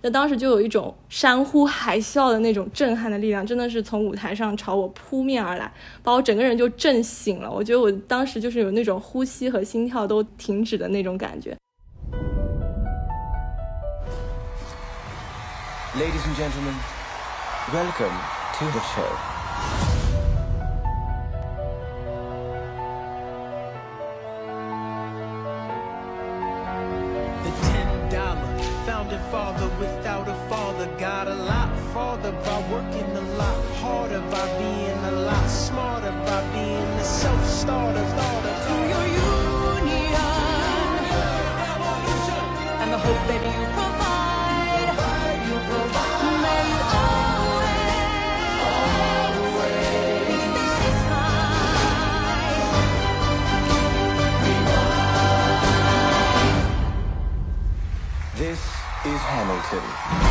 那当时就有一种山呼海啸的那种震撼的力量，真的是从舞台上朝我扑面而来，把我整个人就震醒了。我觉得我当时就是有那种呼吸和心跳都停止的那种感觉。 Ladies and gentlemen, welcome to the show. The $10 founding father without a father got a lot farther by working a lot harder, by being a lot smarter, by being a self-starter. To your union and the hope that you provide, may you always be satisfied. This is Hamilton.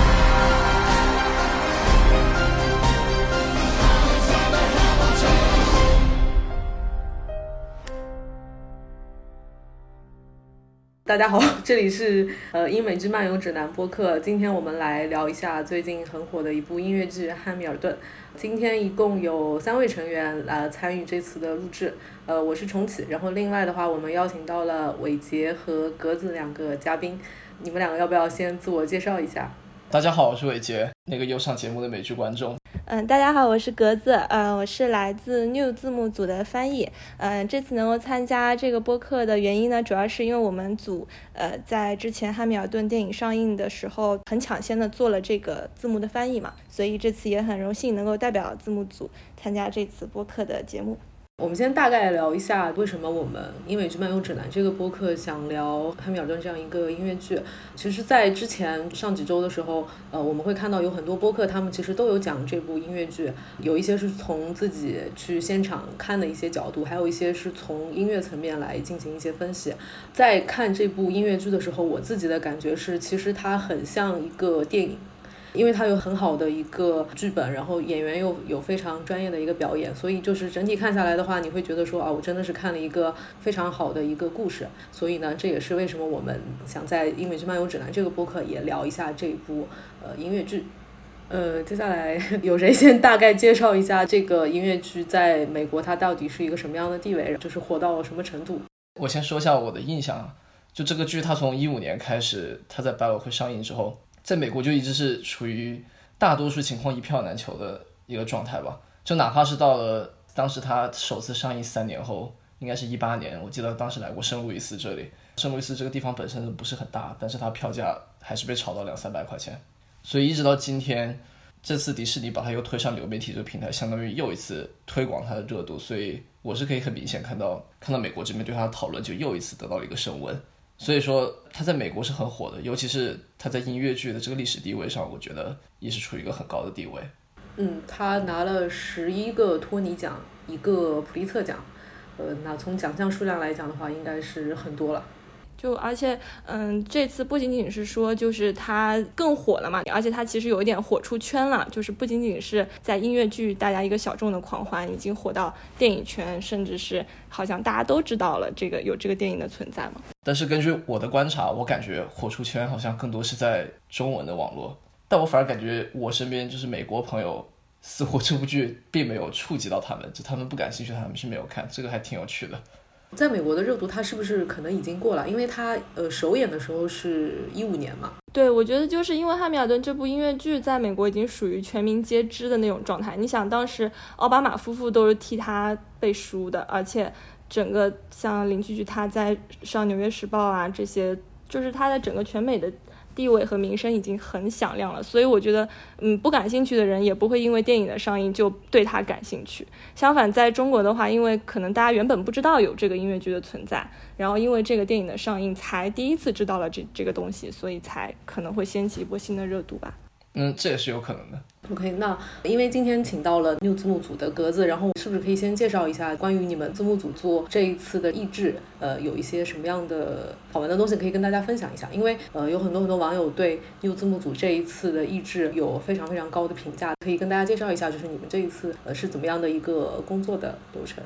Hamilton。大家好，这里是英美剧漫游指南播客。今天我们来聊一下最近很火的一部音乐剧《汉密尔顿》。今天一共有3位成员参与这次的录制。我是重启，然后另外的话，我们邀请到了伟杰和格子2个嘉宾。你们2个要不要先自我介绍一下？ 大家好，我是伟杰，那个又上节目的美剧观众。 大家好，我是格子，我是来自 New 字幕组的翻译。这次能够参加这个播客的原因呢，主要是因为我们组在之前汉密尔顿电影上映的时候很抢先的做了这个字幕的翻译嘛，所以这次也很荣幸能够代表字幕组参加这次播客的节目。 我们先大概聊一下为什么我们英美剧漫游指南这个播客想聊汉密尔顿这样一个音乐剧。其实在之前上几周的时候我们会看到有很多播客他们其实都有讲这部音乐剧，有一些是从自己去现场看的一些角度，还有一些是从音乐层面来进行一些分析。在看这部音乐剧的时候，我自己的感觉是其实它很像一个电影，因为它有很好的一个剧本，然后演员又有非常专业的一个表演，所以就是整体看下来的话，你会觉得说我真的是看了一个非常好的一个故事。所以呢，这也是为什么我们想在英美剧漫游指南这个播客也聊一下这部音乐剧。接下来有谁先大概介绍一下这个音乐剧在美国它到底是一个什么样的地位，就是火到什么程度？ 我先说一下我的印象，就这个剧它从2015年开始，它在百老汇上映之后，在美国就一直是处于大多数情况一票难求的一个状态吧。就哪怕是到了当时它首次上映3年后，应该是18年，我记得当时来过圣路易斯这里。圣路易斯这个地方本身不是很大，但是它票价还是被炒到200-300块钱。所以一直到今天，这次迪士尼把它又推上流媒体这个平台，相当于又一次推广它的热度。所以我是可以很明显看到美国这边对它的讨论就又一次得到了一个升温。所以说他在美国是很火的，尤其是他在音乐剧的这个历史地位上，我觉得也是处于一个很高的地位。 他拿了11个托尼奖，1个普利策奖，那从奖项数量来讲的话，应该是很多了。 而且这次不仅仅是说就是它更火了嘛，而且它其实有一点火出圈了，就是不仅仅是在音乐剧大家一个小众的狂欢，已经火到电影圈，甚至是好像大家都知道了有这个电影的存在嘛。 但是根据我的观察，我感觉火出圈好像更多是在中文的网络，但我反而感觉我身边就是美国朋友似乎这部剧并没有触及到他们，就他们不感兴趣，他们是没有看，这个还挺有趣的。 在美国的热度它是不是可能已经过了？因为它首演的时候是15年嘛。 对，我觉得就是因为汉密尔顿这部音乐剧在美国已经属于全民皆知的那种状态。你想当时奥巴马夫妇都是替他背书的，而且整个像邻居剧他在上纽约时报啊，这些就是他在整个全美的地位和名声已经很响亮了，所以我觉得不感兴趣的人也不会因为电影的上映就对他感兴趣。相反在中国的话，因为可能大家原本不知道有这个音乐剧的存在，然后因为这个电影的上映才第一次知道了这个东西，所以才可能会掀起一波新的热度吧。 这也是有可能的。 OK， 那因为今天请到了 New 字幕组的格子，然后是不是可以先介绍一下关于你们字幕组做这一次的译制有一些什么样的好玩的东西可以跟大家分享一下？因为有很多网友对 New 字幕组这一次的译制有非常非常高的评价，可以跟大家介绍一下就是你们这一次是怎么样的一个工作的流程？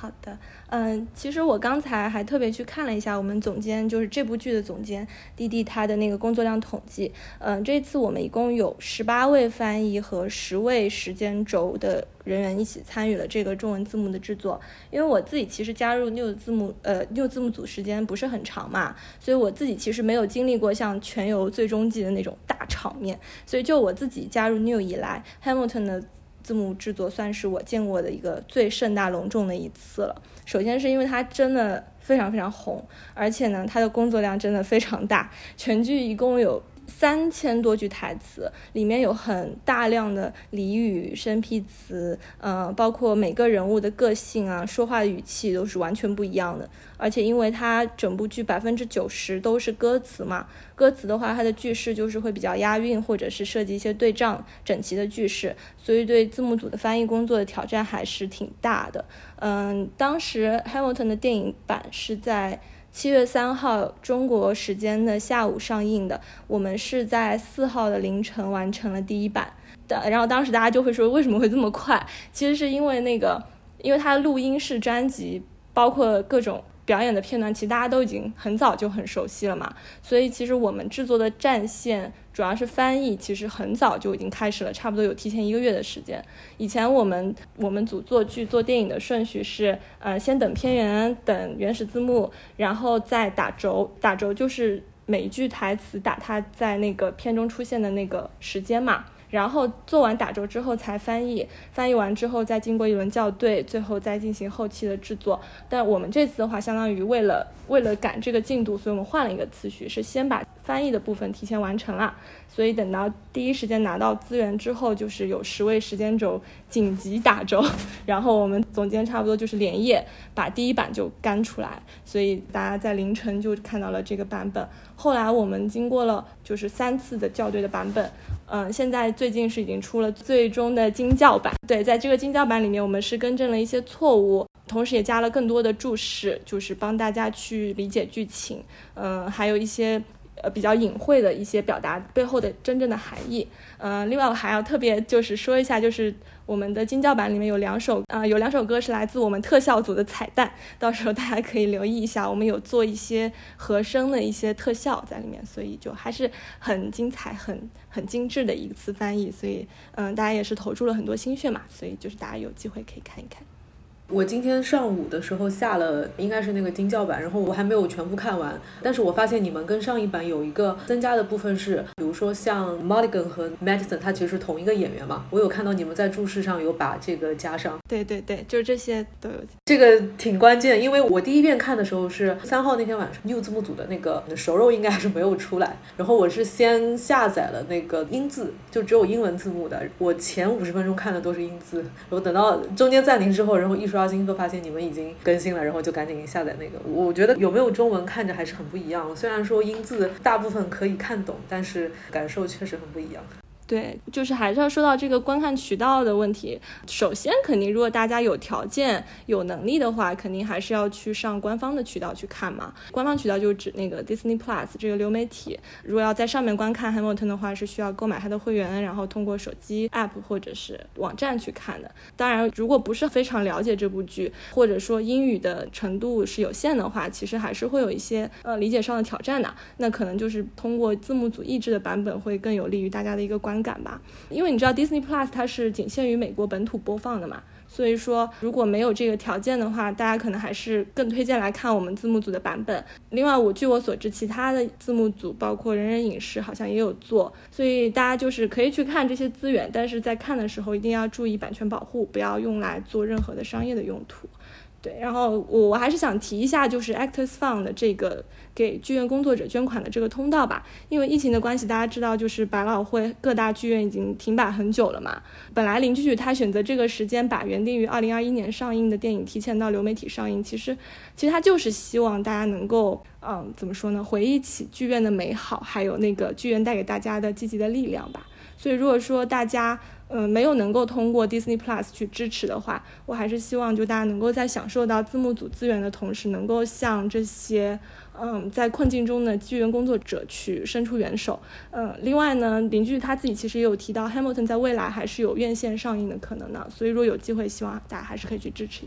好的，其实我刚才还特别去看了一下我们总监，就是这部剧的总监弟弟他的那个工作量统计。这次我们一共有18位翻译和10位时间轴的人员一起参与了这个中文字幕的制作。因为我自己其实加入 New 字幕组时间不是很长嘛，所以我自己其实没有经历过像全游最终季的那种大场面，所以就我自己加入 New 以来 Hamilton 的字幕制作算是我见过的一个最盛大隆重的一次了。首先是因为它真的非常非常红，而且呢它的工作量真的非常大，全剧一共有3000多句台词，里面有很大量的俚语、生僻词，包括每个人物的个性啊、说话的语气都是完全不一样的。而且因为它整部剧90%都是歌词嘛，歌词的话它的句式就是会比较押韵，或者是设计一些对仗整齐的句式，所以对字幕组的翻译工作的挑战还是挺大的。当时 Hamilton 的电影版是在7月3号中国时间的下午上映的，我们是在4号的凌晨完成了第一版的。然后当时大家就会说为什么会这么快，其实是因为它的录音室专辑包括各种表演的片段，其实大家都已经很早就很熟悉了嘛，所以其实我们制作的战线主要是翻译，其实很早就已经开始了，差不多有提前1个月的时间。以前我们组做剧做电影的顺序是先等片源，等原始字幕，然后再打轴就是每一句台词打它在那个片中出现的那个时间嘛，然后做完打轴之后才翻译完之后再经过一轮校对，最后再进行后期的制作。但我们这次的话相当于为了赶这个进度，所以我们换了一个次序，是先把翻译的部分提前完成了，所以等到第一时间拿到资源之后，就是有10位时间轴紧急打轴，然后我们总监差不多就是连夜把第一版就干出来，所以大家在凌晨就看到了这个版本。后来我们经过了就是3次的校对的版本，现在最近是已经出了最终的精校版。对，在这个精校版里面我们是更正了一些错误，同时也加了更多的注释，就是帮大家去理解剧情，还有一些比较隐晦的一些表达背后的真正的含义。另外我还要特别就是说一下，就是我们的精校版里面有2首歌是来自我们特效组的彩蛋，到时候大家可以留意一下，我们有做一些和声的一些特效在里面，所以就还是很精彩很精致的一次翻译，所以大家也是投注了很多心血嘛，所以就是大家有机会可以看一看。 我今天上午的时候下了应该是那个精校版，然后我还没有全部看完，但是我发现你们跟上一版有一个增加的部分是，比如说像 Mulligan 和 Madison 他其实是同一个演员嘛，我有看到你们在注释上有把这个加上。 对，就是这些都有。 这个挺关键，因为我第一遍看的时候是3号那天晚上 New 字幕组的那个熟肉应该还是没有出来，然后我是先下载了那个英字，就只有英文字幕的，我前50分钟看的都是英字，然后等到中间暂停之后，然后一刷新后发现你们已经更新了，然后就赶紧下载那个。我觉得有没有中文看着还是很不一样，虽然说英字大部分可以看懂，但是感受确实很不一样。 对，就是还是要说到这个观看渠道的问题。首先肯定如果大家有条件有能力的话，肯定还是要去上官方的渠道去看嘛。官方渠道就指那个 Disney Plus 这个流媒体，如果要在上面观看 Hamilton 的话，是需要购买它的会员，然后通过手机 App 或者是网站去看的。当然如果不是非常了解这部剧，或者说英语的程度是有限的话，其实还是会有一些理解上的挑战的。那可能就是通过字幕组译制的版本会更有利于大家的一个观感吧。因为你知道 Disney Plus 它是仅限于美国本土播放的嘛，所以说如果没有这个条件的话，大家可能还是更推荐来看我们字幕组的版本。另外据我所知，其他的字幕组包括人人影视好像也有做，所以大家就是可以去看这些资源，但是在看的时候一定要注意版权保护，不要用来做任何的商业的用途。对，然后我还是想提一下，就是 Actors Fund 的这个给剧院工作者捐款的这个通道吧。因为疫情的关系，大家知道就是百老汇各大剧院已经停摆很久了嘛。本来林剧剧他选择这个时间把原定于2021年上映的电影提前到流媒体上映，其实他就是希望大家能够怎么说呢，回忆起剧院的美好，还有那个剧院带给大家的积极的力量吧。所以如果说大家没有能够通过 Disney Plus 去支持的话，我还是希望就大家能够在享受到字幕组资源的同时，能够向这些在困境中的剧院工作者去伸出援手。另外呢，林剧他自己其实也有提到 Hamilton 在未来还是有院线上映的可能的，所以如果有机会，希望大家还是可以去支持一下。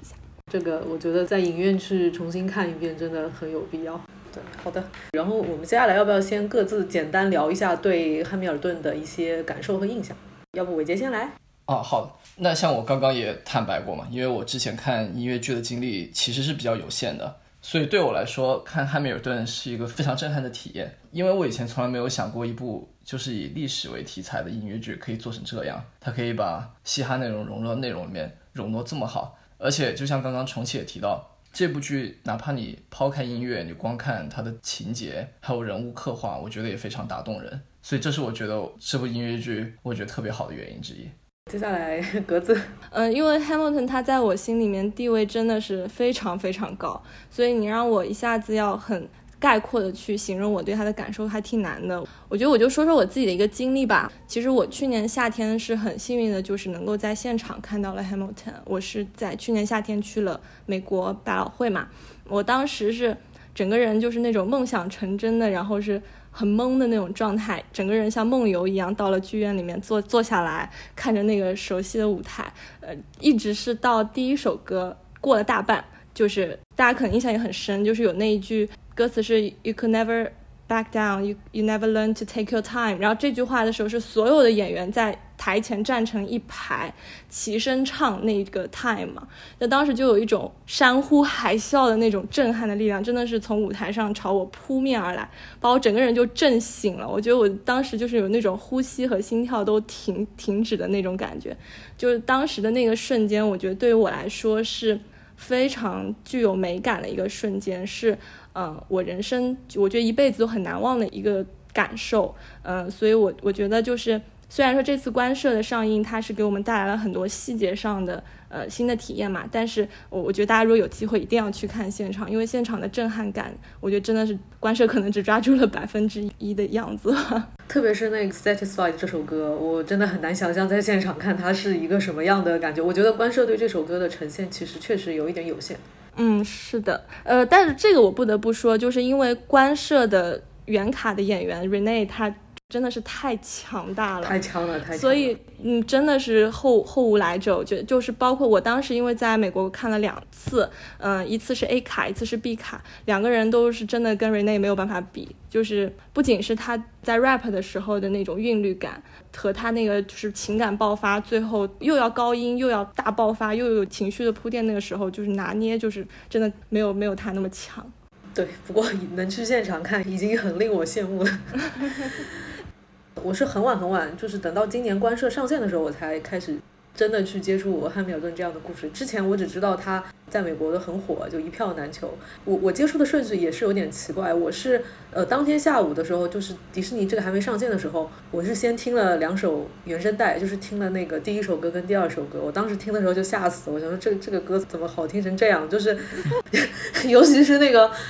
这个我觉得在影院去重新看一遍真的很有必要。对，好的。然后我们接下来要不要先各自简单聊一下对汉密尔顿的一些感受和印象？要不伟杰先来？ 好的。那像我刚刚也坦白过嘛，因为我之前看音乐剧的经历其实是比较有限的，所以对我来说看汉密尔顿是一个非常震撼的体验。因为我以前从来没有想过一部就是以历史为题材的音乐剧可以做成这样，它可以把嘻哈内容融入到内容里面，融入这么好。而且就像刚刚重启也提到，这部剧哪怕你抛开音乐，你光看它的情节还有人物刻画，我觉得也非常打动人。所以这是我觉得这部音乐剧我觉得特别好的原因之一。 接下来格子。 因为 Hamilton 他在我心里面地位真的是非常非常高，所以你让我一下子要很概括的去形容我对他的感受还挺难的。我觉得我就说说我自己的一个经历吧。其实我去年夏天是很幸运的，就是能够在现场看到了 Hamilton。我是在去年夏天去了美国百老汇嘛，我当时是整个人就是那种梦想成真的，然后是很懵的那种状态，整个人像梦游一样到了剧院里面坐下来，看着那个熟悉的舞台，一直是到第一首歌过了大半，就是大家可能印象也很深，就是有那一句歌词是 You could never back down, you never learn to take your time。 然后这句话的时候是所有的演员在台前站成一排齐声唱那个 time 嘛，那当时就有一种山呼海啸的那种震撼的力量，真的是从舞台上朝我扑面而来，把我整个人就震醒了。我觉得我当时就是有那种呼吸和心跳都停止的那种感觉，就是当时的那个瞬间，我觉得对于我来说是非常具有美感的一个瞬间，是我人生我觉得一辈子都很难忘的一个感受。所以我觉得就是虽然说这次官社的上映它是给我们带来了很多细节上的新的体验嘛，但是我觉得大家如果有机会一定要去看现场，因为现场的震撼感我觉得真的是官社可能只抓住了1%的样子。 特别是那个 Satisfied 这首歌，我真的很难想象在现场看它是一个什么样的感觉。我觉得官社对这首歌的呈现其实确实有一点有限。是的，但是这个我不得不说，就是因为官社的原卡的演员 Renee 他真的是太强大了， 太强了。 所以真的是后无来者。我觉得就是包括我当时因为在美国看了2次，一次是 A 卡，一次是 B 卡，两个人都是真的跟 Renee 没有办法比，就是不仅是他在 rap 的时候的那种韵律感和他那个就是情感爆发，最后又要高音又要大爆发又有情绪的铺垫，那个时候就是拿捏就是真的没有他那么强。 对，不过能去现场看已经很令我羡慕了。我是很晚，就是等到今年官社上线的时候，我才开始真的去接触汉密尔顿这样的故事。之前我只知道他在美国的很火，就一票难求。我接触的顺序也是有点奇怪，我是当天下午的时候，就是迪士尼这个还没上线的时候，我是先听了2首原声带，就是听了那个第1首歌跟第2首歌。我当时听的时候就吓死，我想说这个歌怎么好听成这样，就是尤其是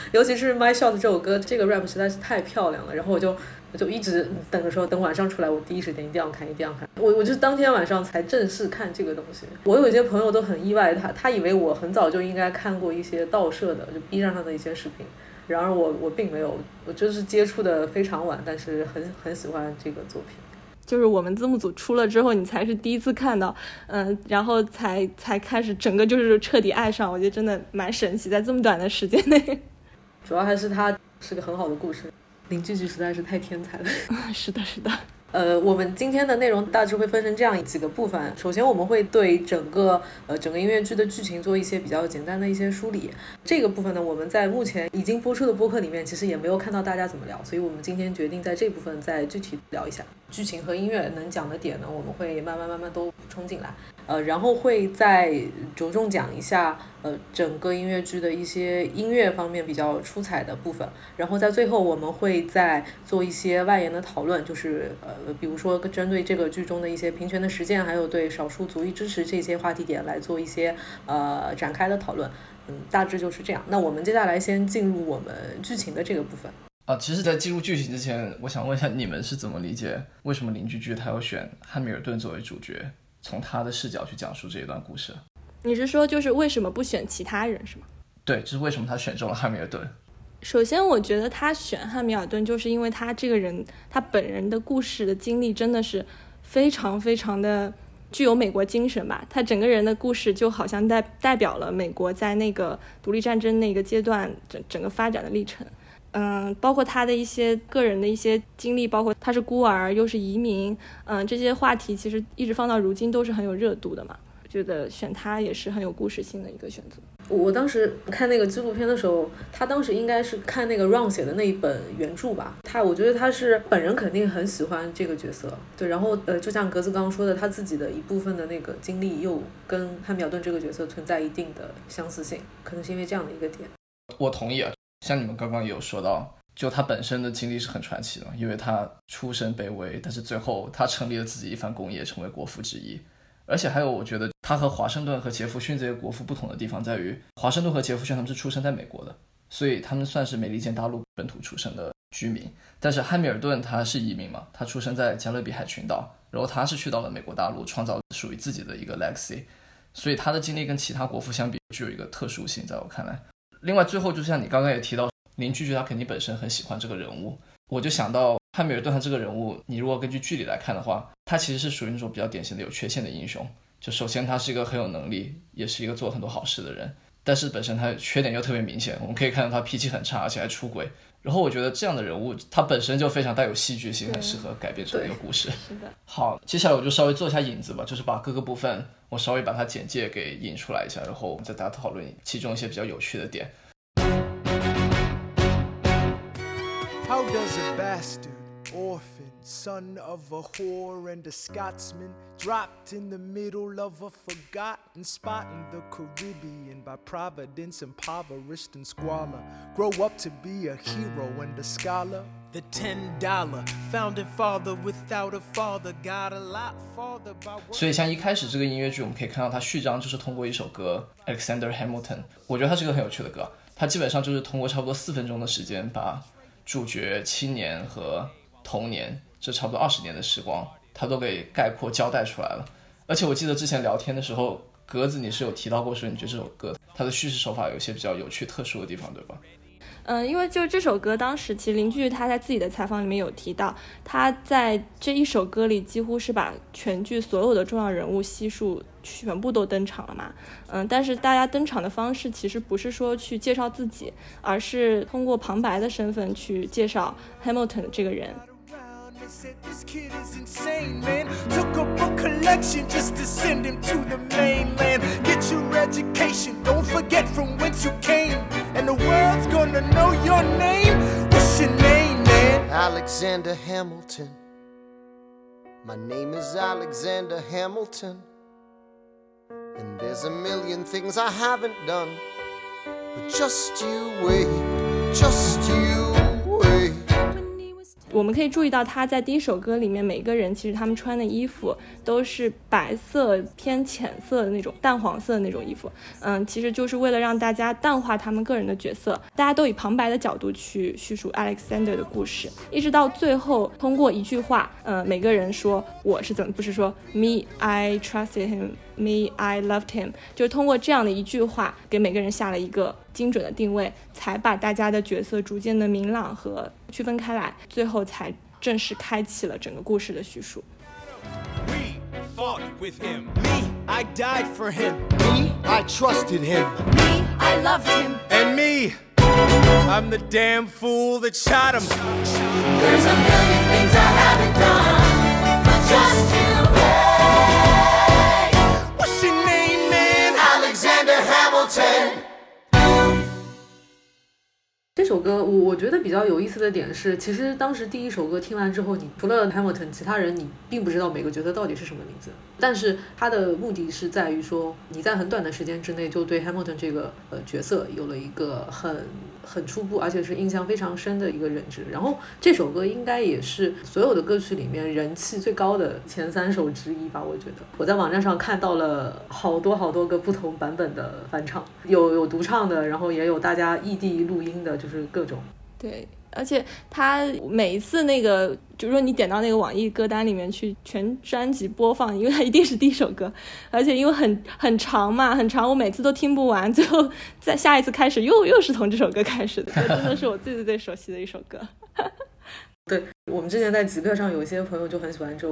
My Shot 这首歌，这个 rap 实在是太漂亮了。然后我就一直等着说等晚上出来我第一时间一定要看。我就是当天晚上才正式看这个东西。我有一些朋友都很意外，他以为我很早就应该看过一些盗摄的就 B 站上的一些视频，然而我并没有，我就是接触的非常晚，但是很喜欢这个作品。 就是我们字幕组出了之后你才是第一次看到，然后才开始整个就是彻底爱上，我觉得真的蛮神奇，在这么短的时间内。 主要还是它是个很好的故事，林句句实在是太天才了。 是的我们今天的内容大致会分成这样几个部分。首先我们会对整个音乐剧的剧情做一些比较简单的一些梳理。这个部分呢，我们在目前已经播出的播客里面其实也没有看到大家怎么聊，所以我们今天决定在这部分再具体聊一下剧情和音乐能讲的点呢，我们会慢慢都补充进来。然后会再着重讲一下整个音乐剧的一些音乐方面比较出彩的部分，然后在最后我们会再做一些外延的讨论，就是比如说针对这个剧中的一些平权的实践，还有对少数族裔支持这些话题点来做一些展开的讨论。大致就是这样。那我们接下来先进入我们剧情的这个部分。 其实在进入剧情之前，我想问一下你们是怎么理解为什么林句句他要选汉密尔顿作为主角，从他的视角去讲述这一段故事？ 你是说就是为什么不选其他人是吗？ 对，就是为什么他选中了汉密尔顿。 首先我觉得他选汉密尔顿就是因为他这个人他本人的故事的经历真的是非常非常的具有美国精神吧，他整个人的故事就好像代表了美国在那个独立战争那个阶段整个发展的历程。包括他的一些个人的一些经历，包括他是孤儿又是移民，这些话题其实一直放到如今都是很有热度的嘛。我觉得选他也是很有故事性的一个选择。 我当时看那个纪录片的时候，他当时应该是看那个 Ron 写的那一本原著吧，我觉得他是本人肯定很喜欢这个角色，对，然后就像格子刚刚说的，他自己的一部分的那个经历又跟汉密尔顿这个角色存在一定的相似性，可能是因为这样的一个点。 我同意啊，像你们刚刚也有说到，就他本身的经历是很传奇的，因为他出身卑微，但是最后他成立了自己一番功业，成为国父之一。而且还有我觉得他和华盛顿和杰弗逊这些国父不同的地方在于，华盛顿和杰弗逊他们是出生在美国的，所以他们算是美利坚大陆本土出生的居民。但是汉密尔顿他是移民嘛，他出生在加勒比海群岛，然后他是去到了美国大陆，创造属于自己的一个 legacy， 所以他的经历跟其他国父相比具有一个特殊性，在我看来。另外最后就像你刚刚也提到，林居居他肯定本身很喜欢这个人物，我就想到汉密尔顿他这个人物，你如果根据剧里来看的话，他其实是属于那种比较典型的有缺陷的英雄。就首先他是一个很有能力，也是一个做很多好事的人，但是本身他缺点又特别明显，我们可以看到他脾气很差，而且还出轨。然后我觉得这样的人物他本身就非常带有戏剧性，很适合改编成一个故事。 是的。 好，接下来我就稍微做一下引子吧，就是把各个部分我稍微把它简介给引出来一下，然后我们再大家讨论其中一些比较有趣的点。 How does a bastard, orphan, son of a whore and a Scotsman, dropped in the middle of a forgotten spot in the Caribbean by providence, impoverished and squalor, grow up to be a hero and a scholar? The $10 founding father without a father got a lot farther by. 所以像一开始这个音乐剧，我们可以看到它序章就是通过一首歌 Alexander Hamilton， 我觉得它是个很有趣的歌，它基本上就是通过差不多4分钟的时间，把主角青年和童年这差不多20年的时光他都给概括交代出来了。而且我记得之前聊天的时候，格子你是有提到过说你觉得这首歌它的叙事手法有一些比较有趣特殊的地方，对吧？ 因为就这首歌当时其实林居他在自己的采访里面有提到，他在这一首歌里几乎是把全剧所有的重要人物悉数全部都登场了嘛。但是大家登场的方式其实不是说去介绍自己，而是通过旁白的身份去介绍 Hamilton 这个人。 They said this kid is insane, man. Took up a collection just to send him to the mainland. Get your education, don't forget from whence you came. And the world's gonna know your name. What's your name, man? Alexander Hamilton. My name is Alexander Hamilton. And there's a million things I haven't done. But just you wait, just you wait. 我们可以注意到他在第一首歌里面每个人其实他们穿的衣服都是白色偏浅色的那种淡黄色的那种衣服，其实就是为了让大家淡化他们个人的角色，大家都以旁白的角度去叙述 Alexander 的故事，一直到最后通过一句话，每个人说我是怎么，不是说 Me I trusted him Me I loved him， 就是通过这样的一句话给每个人下了一个精准的定位，才把大家的角色逐渐的明朗和区分开来，最后才正式开启了整个故事的叙述。 We fought with him. Me, I died for him. Me, I trusted him. Me, I loved him. And me, I'm the damn fool that shot him. There's a million things I haven't done, but just you wait. What's your name, man? Alexander Hamilton. 这首歌我觉得比较有意思的点是，其实当时第一首歌听完之后，你除了 Hamilton 其他人你并不知道每个角色到底是什么名字，但是它的目的是在于说你在很短的时间之内就对 Hamilton 这个角色有了一个很初步而且是印象非常深的一个认知。然后这首歌应该也是所有的歌曲里面人气最高的前3首之一吧，我觉得。我在网站上看到了好多个不同版本的翻唱，有独唱的，然后也有大家异地录音的，就是各种。 对，而且他每一次那个，就说你点到那个网易歌单里面去，全专辑播放，因为它一定是第一首歌，而且因为很长嘛，很长，我每次都听不完，最后在下一次开始又是从这首歌开始的，这真的是我最熟悉的一首歌。 对，我们之前在极客上有一些朋友就很喜欢这首歌，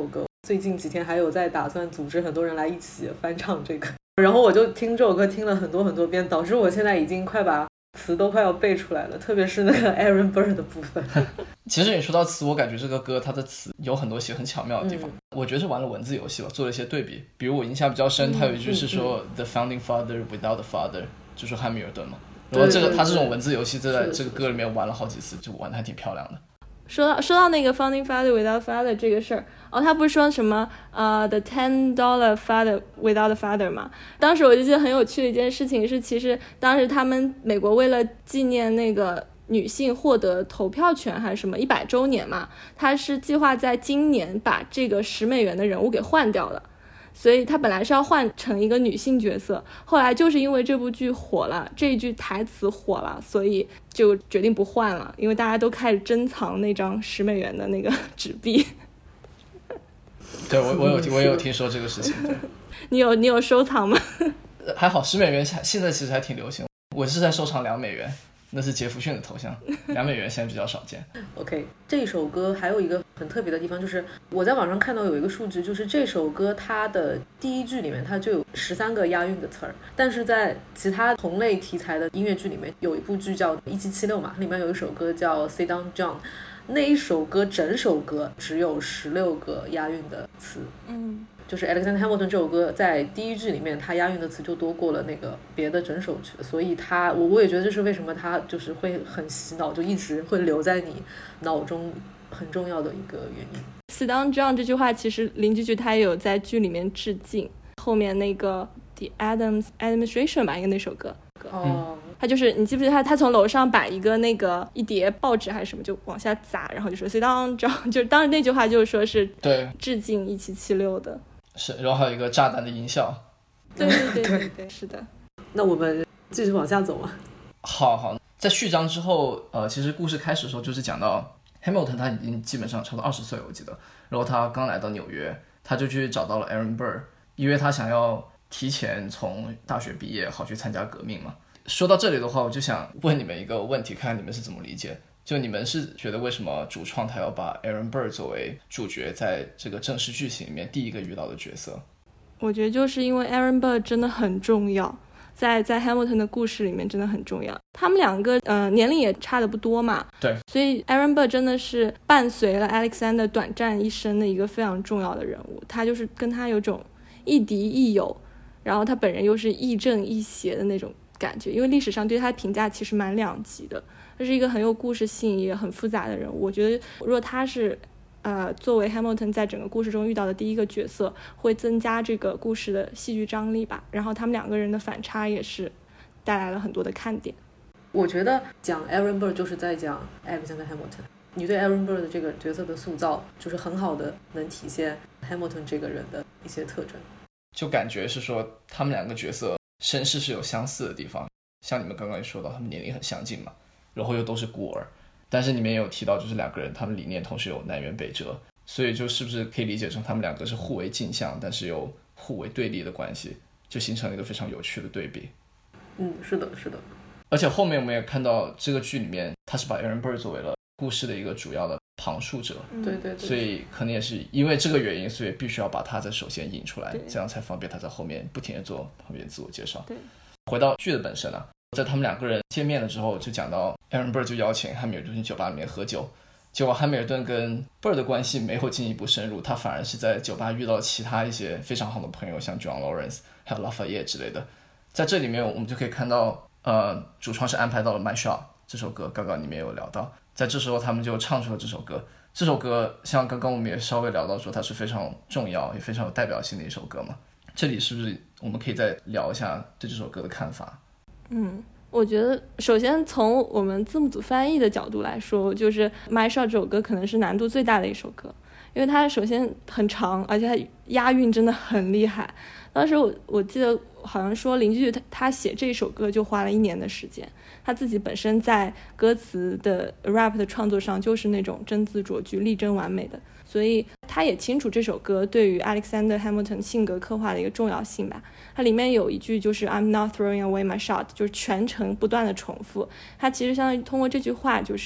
最近几天还有在打算组织很多人来一起翻唱这个，然后我就听这首歌听了很多很多遍，导致我现在已经快把词都快要背出来了，特别是那个 Aaron Burr 的部分。 其实你说到词，我感觉这个歌它的词有很多写很巧妙的地方，我觉得是玩了文字游戏吧，做了一些对比。比如我印象比较深，它有一句是说、The founding father without the father， 就说汉密尔顿嘛。然后他这种文字游戏在这个歌里面玩了好几次，就玩得还挺漂亮的。 说到那个 founding father without father 这个事儿，他不是说什么the $10 father without the father 嘛？当时我就记得很有趣的一件事情是，其实当时他们美国为了纪念那个女性获得投票权还是什么100周年嘛，他是计划在今年把这个$10的人物给换掉了。所以他本来是要换成一个女性角色，后来就是因为这部剧火了，这一句台词火了，所以就决定不换了，因为大家都开始珍藏那张$10的那个纸币。 对，我有听说这个事情。对， 你有收藏吗？ 还好$10现在其实还挺流行，我是在收藏$2，那是杰弗逊的头像，$2现在比较少见。 OK， 这首歌还有一个很特别的地方，就是我在网上看到有一个数据，就是这首歌它的第一句里面它就有13个押韵的词儿，但是在其他同类题材的音乐剧里面，有一部剧叫1776嘛，里面有一首歌叫 Sit Down John， 那一首歌整首歌只有16个押韵的词。就是 Alexander Hamilton 这首歌在第一句里面，他押韵的词就多过了那个别的整首曲，所以我也觉得这是为什么他就是会很洗脑，就一直会留在你脑中很重要的一个原因。 Sit down John 这句话其实林居居他也有在剧里面致敬，后面那个 The Adams Administration 吧，应该那首歌。他就是你记不记得他从楼上把一叠报纸还是什么就往下砸，然后就说 Sit down John， 就当时那句话就是说是对致敬1776的。 是，然后还有一个炸弹的音效。 对，是的。 那我们继续往下走嘛。 好，在序章之后，其实故事开始的时候就是讲到 Hamilton 他已经基本上超过20岁，我记得，然后他刚来到纽约，他就去找到了 Aaron Burr， 因为他想要提前从大学毕业，好去参加革命嘛。说到这里的话，我就想问你们一个问题，看看你们是怎么理解。就你们是觉得为什么主创他要把 Aaron Burr 作为主角，在这个正式剧情里面第一个遇到的角色？ 我觉得就是因为 Aaron Burr 真的很重要，在 Hamilton 的故事里面真的很重要。他们两个年龄也差的不多嘛， 对， 所以 Aaron Burr 真的是伴随了 Alexander 短暂一生的一个非常重要的人物。他就是跟他有种亦敌亦友，然后他本人又是亦正亦邪的那种感觉，因为历史上对他的评价其实蛮两极的。他是一个很有故事性也很复杂的人物，我觉得如果他是作为 Hamilton 在整个故事中遇到的第一个角色，会增加这个故事的戏剧张力吧。然后他们两个人的反差也是带来了很多的看点。 我觉得讲 Aaron Burr 就是在讲 Alexander Hamilton， 你对 Aaron Burr 的这个角色的塑造就是很好的能体现 Hamilton 这个人的一些特征， 就感觉是说他们两个角色身世是有相似的地方，像你们刚刚也说到他们年龄很相近嘛，然后又都是孤儿，但是你们也有提到就是两个人他们理念同时有南辕北辙，所以就是不是可以理解成他们两个是互为镜像但是又互为对立的关系，就形成了一个非常有趣的对比。 是的。 而且后面我们也看到这个剧里面他是把 Aaron Burr 作为了故事的一个主要的旁述者， 对， 所以可能也是因为这个原因，所以必须要把他在首先引出来，这样才方便他在后面不停地做旁边自我介绍。 对， 回到剧的本身啊，在他们两个人见面了之后，就讲到 Aaron Burr 就邀请汉密尔顿去酒吧里面喝酒，结果汉密尔顿跟 Burr 的关系没有进一步深入，他反而是在酒吧遇到其他一些非常好的朋友，像 John Lawrence 还有 Lafayette 之类的。在这里面我们就可以看到主创是安排到了 My Shot 这首歌，刚刚你们也有聊到，在这时候他们就唱出了这首歌。这首歌像刚刚我们也稍微聊到说它是非常重要也非常有代表性的一首歌嘛，这里是不是我们可以再聊一下对这首歌的看法？ 我觉得首先从我们字幕组翻译的角度来说，就是 My Shot 这首歌可能是难度最大的一首歌，因为它首先很长，而且它押韵真的很厉害。当时我记得好像说林居他写这首歌就花了1年的时间，他自己本身在歌词的 rap 的创作上就是那种真字琢句力争完美的，所以他也清楚这首歌对于 Alexander Hamilton 性格刻画的一个重要性吧。它里面有一句就是 I'm not throwing away my shot， 就是全程不断的重复，它其实相当于通过这句话就是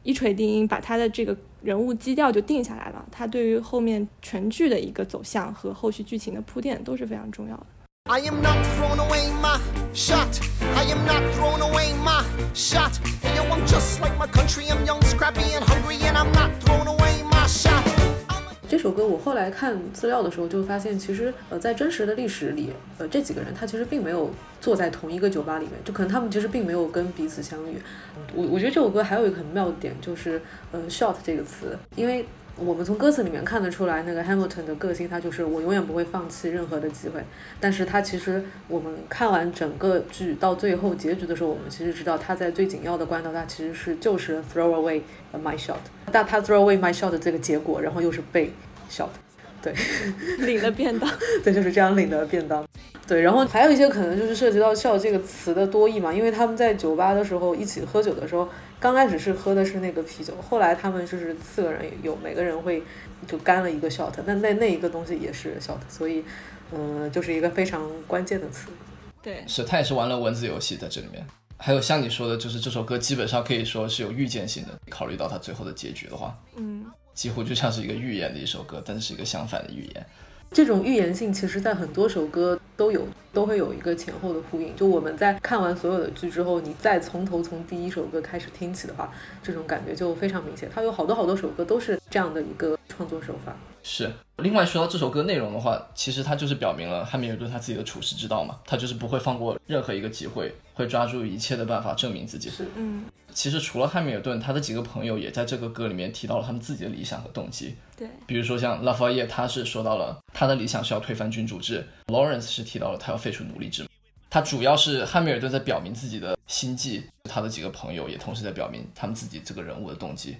一锤定音，把他的这个人物基调就定下来了。他对于后面全剧的一个走向和后续剧情的铺垫都是非常重要的。 I am not throwing away my shot. I am not throwing away my shot. Hey, yo, I'm just like my country. I'm young, scrappy, and hungry, and I'm not throwing away my shot. 这首歌我后来看资料的时候就发现，其实在真实的历史里，这几个人他其实并没有坐在同一个酒吧里面，就可能他们其实并没有跟彼此相遇。我觉得这首歌还有一个很妙的点，就是shot 这个词，因为我们从歌词里面看得出来，那个 Hamilton 的个性他就是我永远不会放弃任何的机会，但是他其实我们看完整个剧到最后结局的时候，我们其实知道他在最紧要的关头他其实就是 throw away my shot， 但他 throw away my shot 的这个结果然后又是被 shot， 对领了便当对，就是这样领的便当。对，然后还有一些可能就是涉及到 shot 这个词的多义嘛，因为他们在酒吧的时候一起喝酒的时候，刚开始是喝的是那个啤酒，后来他们就是4个人有每个人会就干了一个 shot， 那一个东西也是 shot， 所以就是一个非常关键的词。 对， 是他也是玩了文字游戏在这里面。还有像你说的，就是这首歌基本上可以说是有预见性的，考虑到它最后的结局的话，几乎就像是一个预言的一首歌，但是是一个相反的预言。 这种预言性其实在很多首歌都会有一个前后的呼应，就我们在看完所有的剧之后，你再从第一首歌开始听起的话，这种感觉就非常明显。它有好多首歌都是这样的一个创作手法。 是，另外说到这首歌内容的话，其实它就是表明了汉密尔顿他自己的处世之道嘛，他就是不会放过任何一个机会，会抓住一切的办法证明自己。 是， 其实除了汉密尔顿，他的几个朋友也在这个歌里面提到了他们自己的理想和动机。 对， 比如说像拉法叶，他是说到了他的理想是要推翻君主制 ，Lawrence 是提到了他要废除奴隶制。他主要是汉密尔顿在表明自己的心迹，他的几个朋友也同时在表明他们自己这个人物的动机。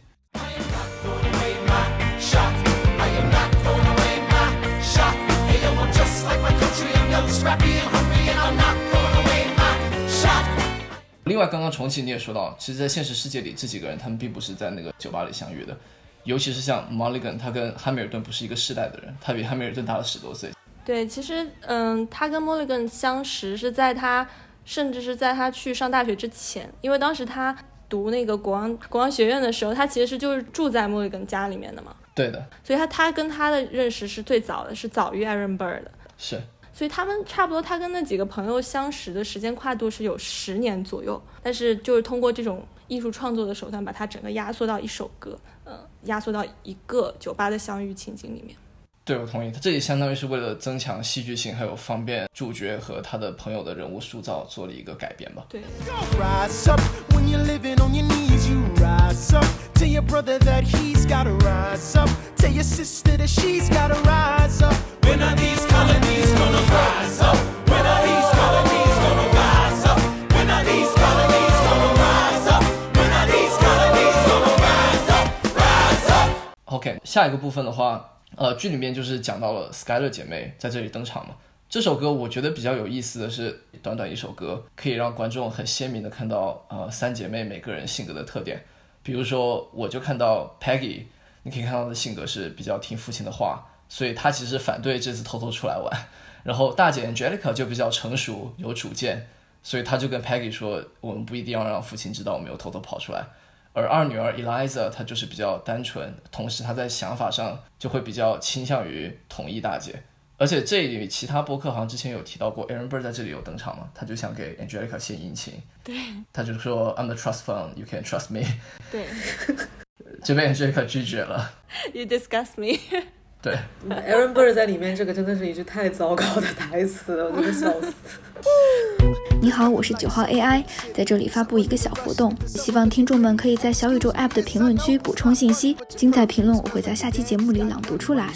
另外刚刚重启你也说到，其实在现实世界里这几个人他们并不是在那个酒吧里相遇的，尤其是像 Mulligan， 他跟汉密尔顿不是一个世代的人，他比汉密尔顿大了10多岁。 对，其实他跟 Mulligan 相识是甚至是在他去上大学之前，因为当时他读那个国王学院的时候，他其实就是住在 Mulligan 家里面的嘛。 对的， 所以他跟他的认识是最早的，是早于 Aaron Burr 的。 是， 所以他们差不多，他跟那几个朋友相识的时间跨度是有10年左右，但是就是通过这种艺术创作的手段，把它整个压缩到一首歌，压缩到一个酒吧的相遇情景里面。 对，我同意，他这里相当于是为了增强戏剧性，还有方便主角和他的朋友的人物塑造做了一个改编吧。 对。 Rise up when you're living on your knees, you rise up. Tell your brother that he's gotta rise up. Tell your sister that she's gotta rise up. When are these colonies gonna rise up? When are these colonies gonna rise up? When are these colonies gonna rise up? When are these colonies gonna rise up? Rise up. OK， 下一个部分的话，剧里面就是讲到了 Skyler 姐妹在这里登场嘛。这首歌我觉得比较有意思的是，短短一首歌可以让观众很鲜明的看到3姐妹每个人性格的特点。比如说我就看到 Peggy， 你可以看到她的性格是比较听父亲的话，所以她其实反对这次偷偷出来玩。然后大姐 Angelica 就比较成熟有主见，所以她就跟 Peggy 说我们不一定要让父亲知道我们有偷偷跑出来。而二女儿 Eliza 她就是比较单纯，同时她在想法上就会比较倾向于同意大姐。而且这里其他播客好像之前有提到过 Aaron Burr 在这里有登场嘛，他就想给 Angelica 献殷勤， 对， 他就说 I'm the trust fund, you can trust me。 对， 这被 Angelica 拒绝了。 You disgust me。 对， Aaron Burr 在里面这个真的是一句太糟糕的台词了，我真的笑死。 你好，我是9号 AI， 在这里发布一个小活动，希望听众们可以在小宇宙 App 的评论区补充信息，精彩评论我会在下期节目里朗读出来。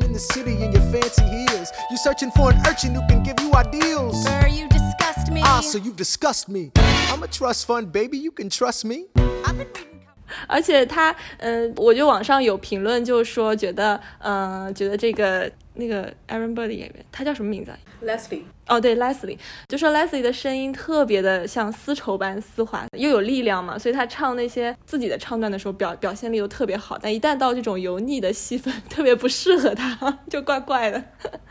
You're searching for an urchin who can give you ideals. Sir, you disgust me. Ah, so you disgust me. I'm a trust fund, baby. You can trust me. I've been reading. 而且他，我就网上有评论就说觉得这个那个 Aaron Burr 的演员，他叫什么名字啊 Leslie， 哦，对 Leslie， 就说 Leslie 的声音特别的像丝绸般丝滑，又有力量嘛，所以他唱那些自己的唱段的时候表现力都特别好，但一旦到这种油腻的戏份，特别不适合他，就怪怪的。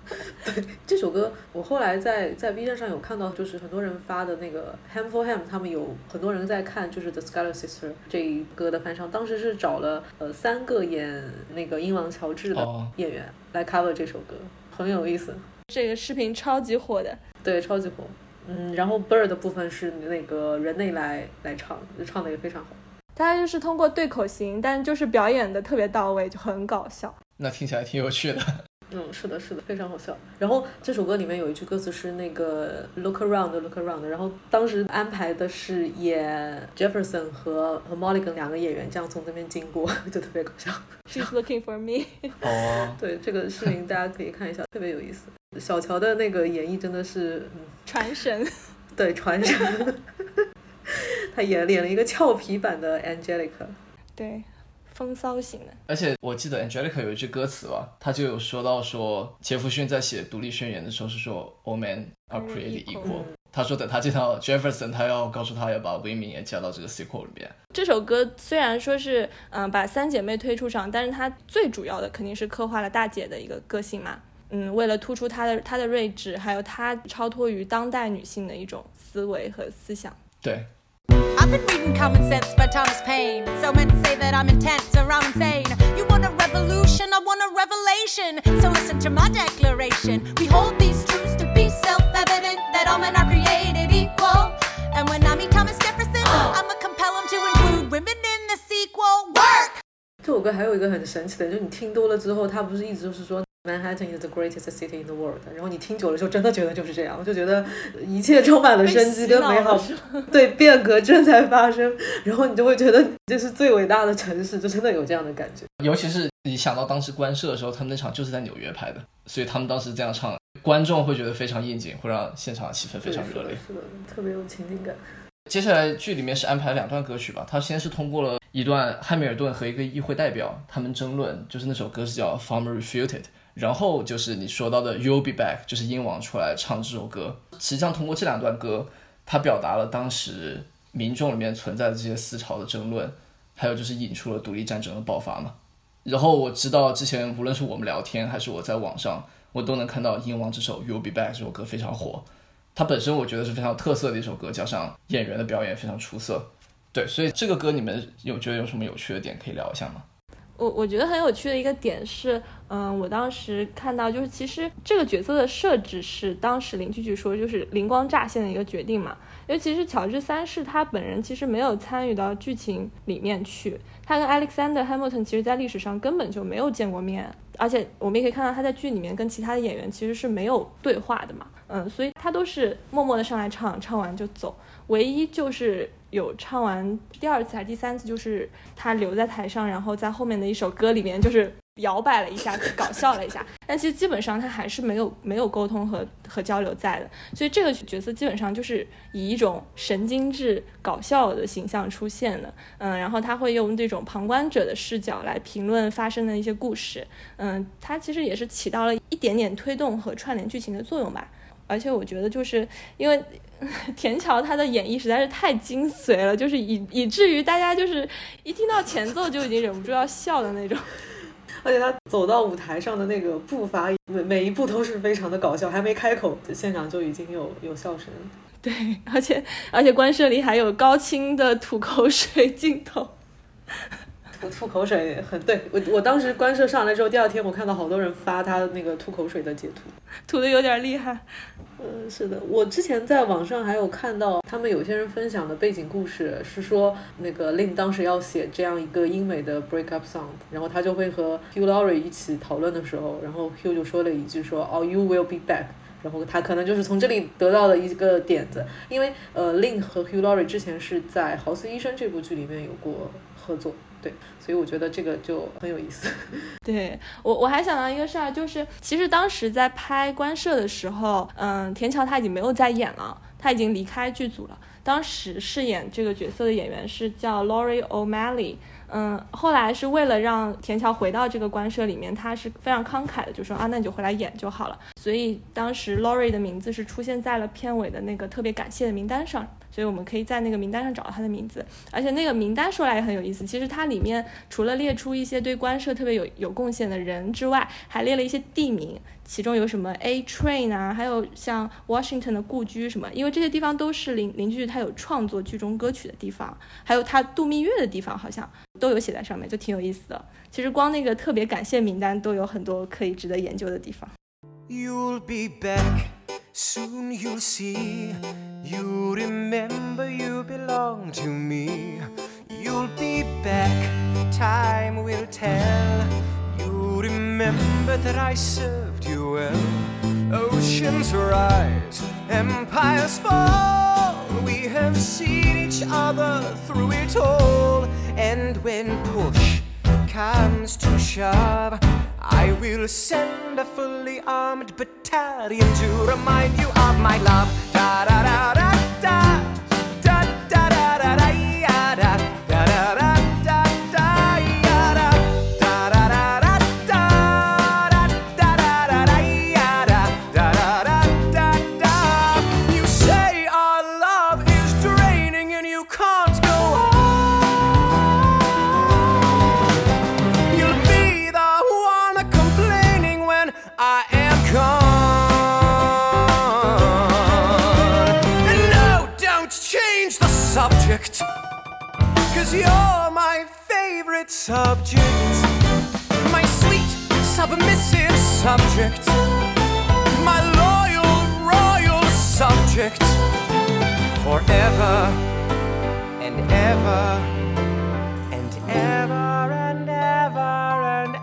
对，这首歌我后来在 B 站上有看到，就是很多人发的那个 Ham for Ham， 他们有很多人在看就是 The Scarlet Sister 这一歌的翻唱，当时是找了3个演那个英王乔治的演员来 cover 这首歌，很有意思。 这个视频超级火的。 对，超级火。然后 Bird 的部分是那个人内来唱，唱的也非常好。 他就是通过对口型，但就是表演的特别到位，就很搞笑。 那听起来挺有趣的。 是的，非常好笑。然后这首歌里面有一句歌词是那个 Look around, look around， 然后当时安排的是演 Jefferson 和 Mulligan 2个演员这样从这边经过，就特别搞笑。 She's looking for me 对，这个视频大家可以看一下，特别有意思。小乔的那个演绎真的是传神。 对，传神。他演了一个俏皮版的 Angelica。 对，风骚型的。 而且我记得 Angelica 有一句歌词吧，他就有说到说杰弗逊在写独立宣言的时候是说 All men are created equal，他说等他见到 Jefferson， 他要告诉他要把 women 也加到这个 sequel 里面。 这首歌虽然说是把3姐妹推出场，但是它最主要的肯定是刻画了大姐的一个个性嘛。为了突出她的睿智，还有她超脱于当代女性的一种思维和思想。 对。 I've been reading Common Sense by Thomas Paine. So meant to say that I'm intense or I'm insane. You want a revolution, I want a revelation. So listen to my declaration. We hold these truths to be self-evident, that all men are created equal. And when I meet Thomas Jefferson, I'ma compel him to include women in the sequel. Work! 这首歌还有一个很神奇的，就是你听多了之后，它不是一直就是说Manhattan is the greatest city in the world， 然后你听久了就真的觉得就是这样，就觉得一切充满了生机跟美好，对，变革正在发生，然后你就会觉得这是最伟大的城市，就真的有这样的感觉。 尤其是你想到当时官摄的时候，他们那场就是在纽约拍的，所以他们当时这样唱，观众会觉得非常应景，会让现场的气氛非常热烈， 是的，特别有情景感。 接下来剧里面是安排了2段歌曲吧，他先是通过了一段汉密尔顿和一个议会代表他们争论，就是那首歌是叫 Farmer Refuted，然后就是你说到的 You'll Be Back， 就是英王出来唱这首歌。实际上通过这2段歌，它表达了当时民众里面存在的这些思潮的争论，还有就是引出了独立战争的爆发嘛。然后我知道之前无论是我们聊天还是我在网上，我都能看到英王这首 You'll Be Back 这首歌非常火，它本身我觉得是非常有特色的一首歌，加上演员的表演非常出色。对，所以这个歌你们觉得有什么有趣的点可以聊一下吗？ 我觉得很有趣的一个点是，我当时看到就是其实这个角色的设置是当时林句句说就是灵光乍现的一个决定嘛，因为其实乔治3世他本人其实没有参与到剧情里面去，他跟 Alexander Hamilton 其实在历史上根本就没有见过面，而且我们也可以看到他在剧里面跟其他的演员其实是没有对话的嘛，所以他都是默默的上来唱完就走，唯一就是有唱完第2次还是第3次，就是他留在台上，然后在后面的一首歌里面就是摇摆了一下，搞笑了一下，但其实基本上他还是没有沟通和交流在的，所以这个角色基本上就是以一种神经质搞笑的形象出现的，然后他会用这种旁观者的视角来评论发生的一些故事，他其实也是起到了一点点推动和串联剧情的作用吧。而且我觉得就是因为田乔他的演绎实在是太精髓了，就是以至于大家就是一听到前奏就已经忍不住要笑的那种。 而且他走到舞台上的那个步伐，每一步都是非常的搞笑，还没开口，现场就已经有笑声。 对，而且官摄里还有高清的吐口水镜头。 吐口水很对，我当时官摄上来之后，第2天我看到好多人发他那个吐口水的截图， 吐的有点厉害。 是的，我之前在网上还有看到他们有些人分享的背景故事，是说那个 Lin 当时要写这样一个英美的 breakup song， 然后他就会和 Hugh Laurie 一起讨论的时候，然后 Hugh 就说了一句说 Oh you will be back， 然后他可能就是从这里得到的一个点子，因为Lin 和 Hugh Laurie 之前是在《豪斯医生》这部剧里面有过合作，对，所以我觉得这个就很有意思。 对，我还想到一个事儿，就是其实当时在拍官摄的时候，田乔他已经没有在演了，他已经离开剧组了。当时饰演这个角色的演员是叫 Laurie O'Malley，后来是为了让田乔回到这个官摄里面，他是非常慷慨的，就说那你就回来演就好了。所以当时 Laurie 的名字是出现在了片尾的那个特别感谢的名单上， 所以我们可以在那个名单上找到他的名字。而且那个名单说来也很有意思，其实它里面除了列出一些对官设特别有贡献的人之外，还列了一些地名，其中有什么 A Train 啊，还有像 Washington 的故居什么，因为这些地方都是林居剧他有创作剧中歌曲的地方，还有他度蜜月的地方好像都有写在上面，就挺有意思的。其实光那个特别感谢名单都有很多可以值得研究的地方。 You'll be back, soon you'll see. You remember you belong to me. You'll be back, time will tell. You remember that I served you well. Oceans rise, empires fall. We have seen each other through it all. And when push comes to shove, I will send a fully armed battalion to remind you of my love. Da da da da da da da da da da ya da da da da da da ya da da da da da da da da da da ya da da da da da da. You say our love is draining and you can't go on. You'll be the one complaining when I am gone. And no, don't change the subject, 'cause you're my favorite subject. My sweet, submissive subject. My loyal, royal subject. Forever and ever and ever and ever and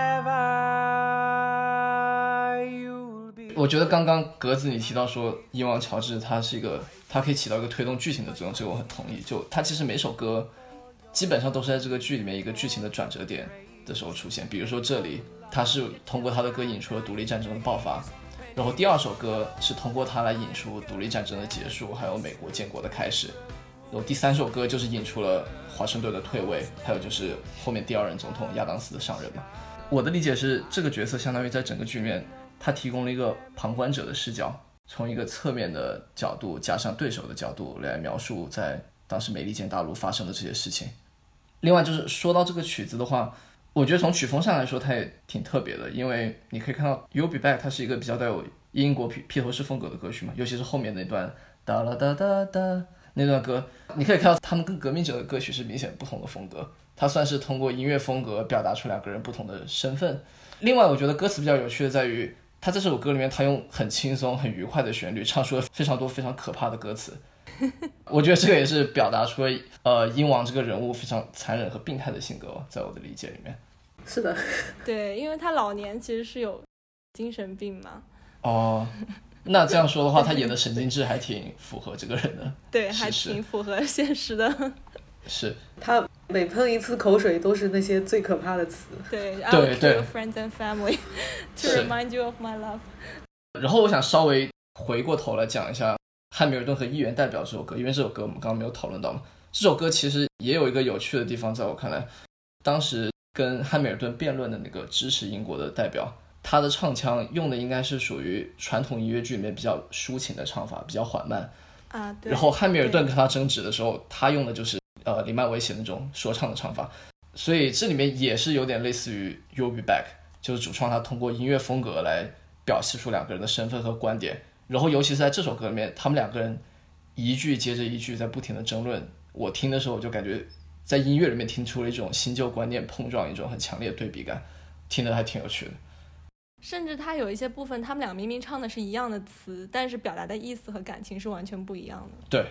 ever you'll be. 我觉得刚刚格子你提到说伊王乔治他可以起到一个推动剧情的作用，这个我很同意。就他其实每首歌基本上都是在这个剧里面一个剧情的转折点的时候出现。比如说这里他是通过他的歌引出了独立战争的爆发，然后第二首歌是通过他来引出独立战争的结束，还有美国建国的开始，然后第三首歌就是引出了华盛顿的退位，还有就是后面第二任总统亚当斯的上任嘛。我的理解是这个角色相当于在整个剧里面他提供了一个旁观者的视角，从一个侧面的角度加上对手的角度来描述在当时美利坚大陆发生的这些事情。另外就是说到这个曲子的话，我觉得从曲风上来说它也挺特别的，因为你可以看到 You'll Be Back 它是一个比较带有英国披头士风格的歌曲嘛，尤其是后面那段哒啦哒哒哒那段歌，你可以看到他们跟革命者的歌曲是明显不同的风格，它算是通过音乐风格表达出两个人不同的身份。另外我觉得歌词比较有趣的在于他在这首歌里面他用很轻松很愉快的旋律唱出了非常多非常可怕的歌词。我觉得这个也是表达出了英王这个人物非常残忍和病态的性格，在我的理解里面。 是的， 对，因为他老年其实是有精神病嘛。 哦，那这样说的话他演的神经质还挺符合这个人的。 对，还挺符合现实的。 是， 他每喷一次口水都是那些最可怕的词。 对， 对 I will kill your friends and family to remind you of my love。 然后我想稍微回过头来讲一下汉密尔顿和议员代表这首歌，因为这首歌我们刚刚没有讨论到嘛。这首歌其实也有一个有趣的地方，在我看来，当时跟汉密尔顿辩论的那个支持英国的代表，他的唱腔用的应该是属于传统音乐剧里面比较抒情的唱法，比较缓慢啊。对。 然后汉密尔顿跟他争执的时候，他用的就是林曼维写那种说唱的唱法，所以这里面也是有点类似于 You'll Be Back， 就是主创他通过音乐风格来表现出两个人的身份和观点。然后尤其是在这首歌里面，他们两个人一句接着一句在不停的争论，我听的时候我就感觉在音乐里面听出了一种新旧观念碰撞，一种很强烈的对比感，听得还挺有趣的。 甚至他有一些部分他们俩明明唱的是一样的词，但是表达的意思和感情是完全不一样的。 对。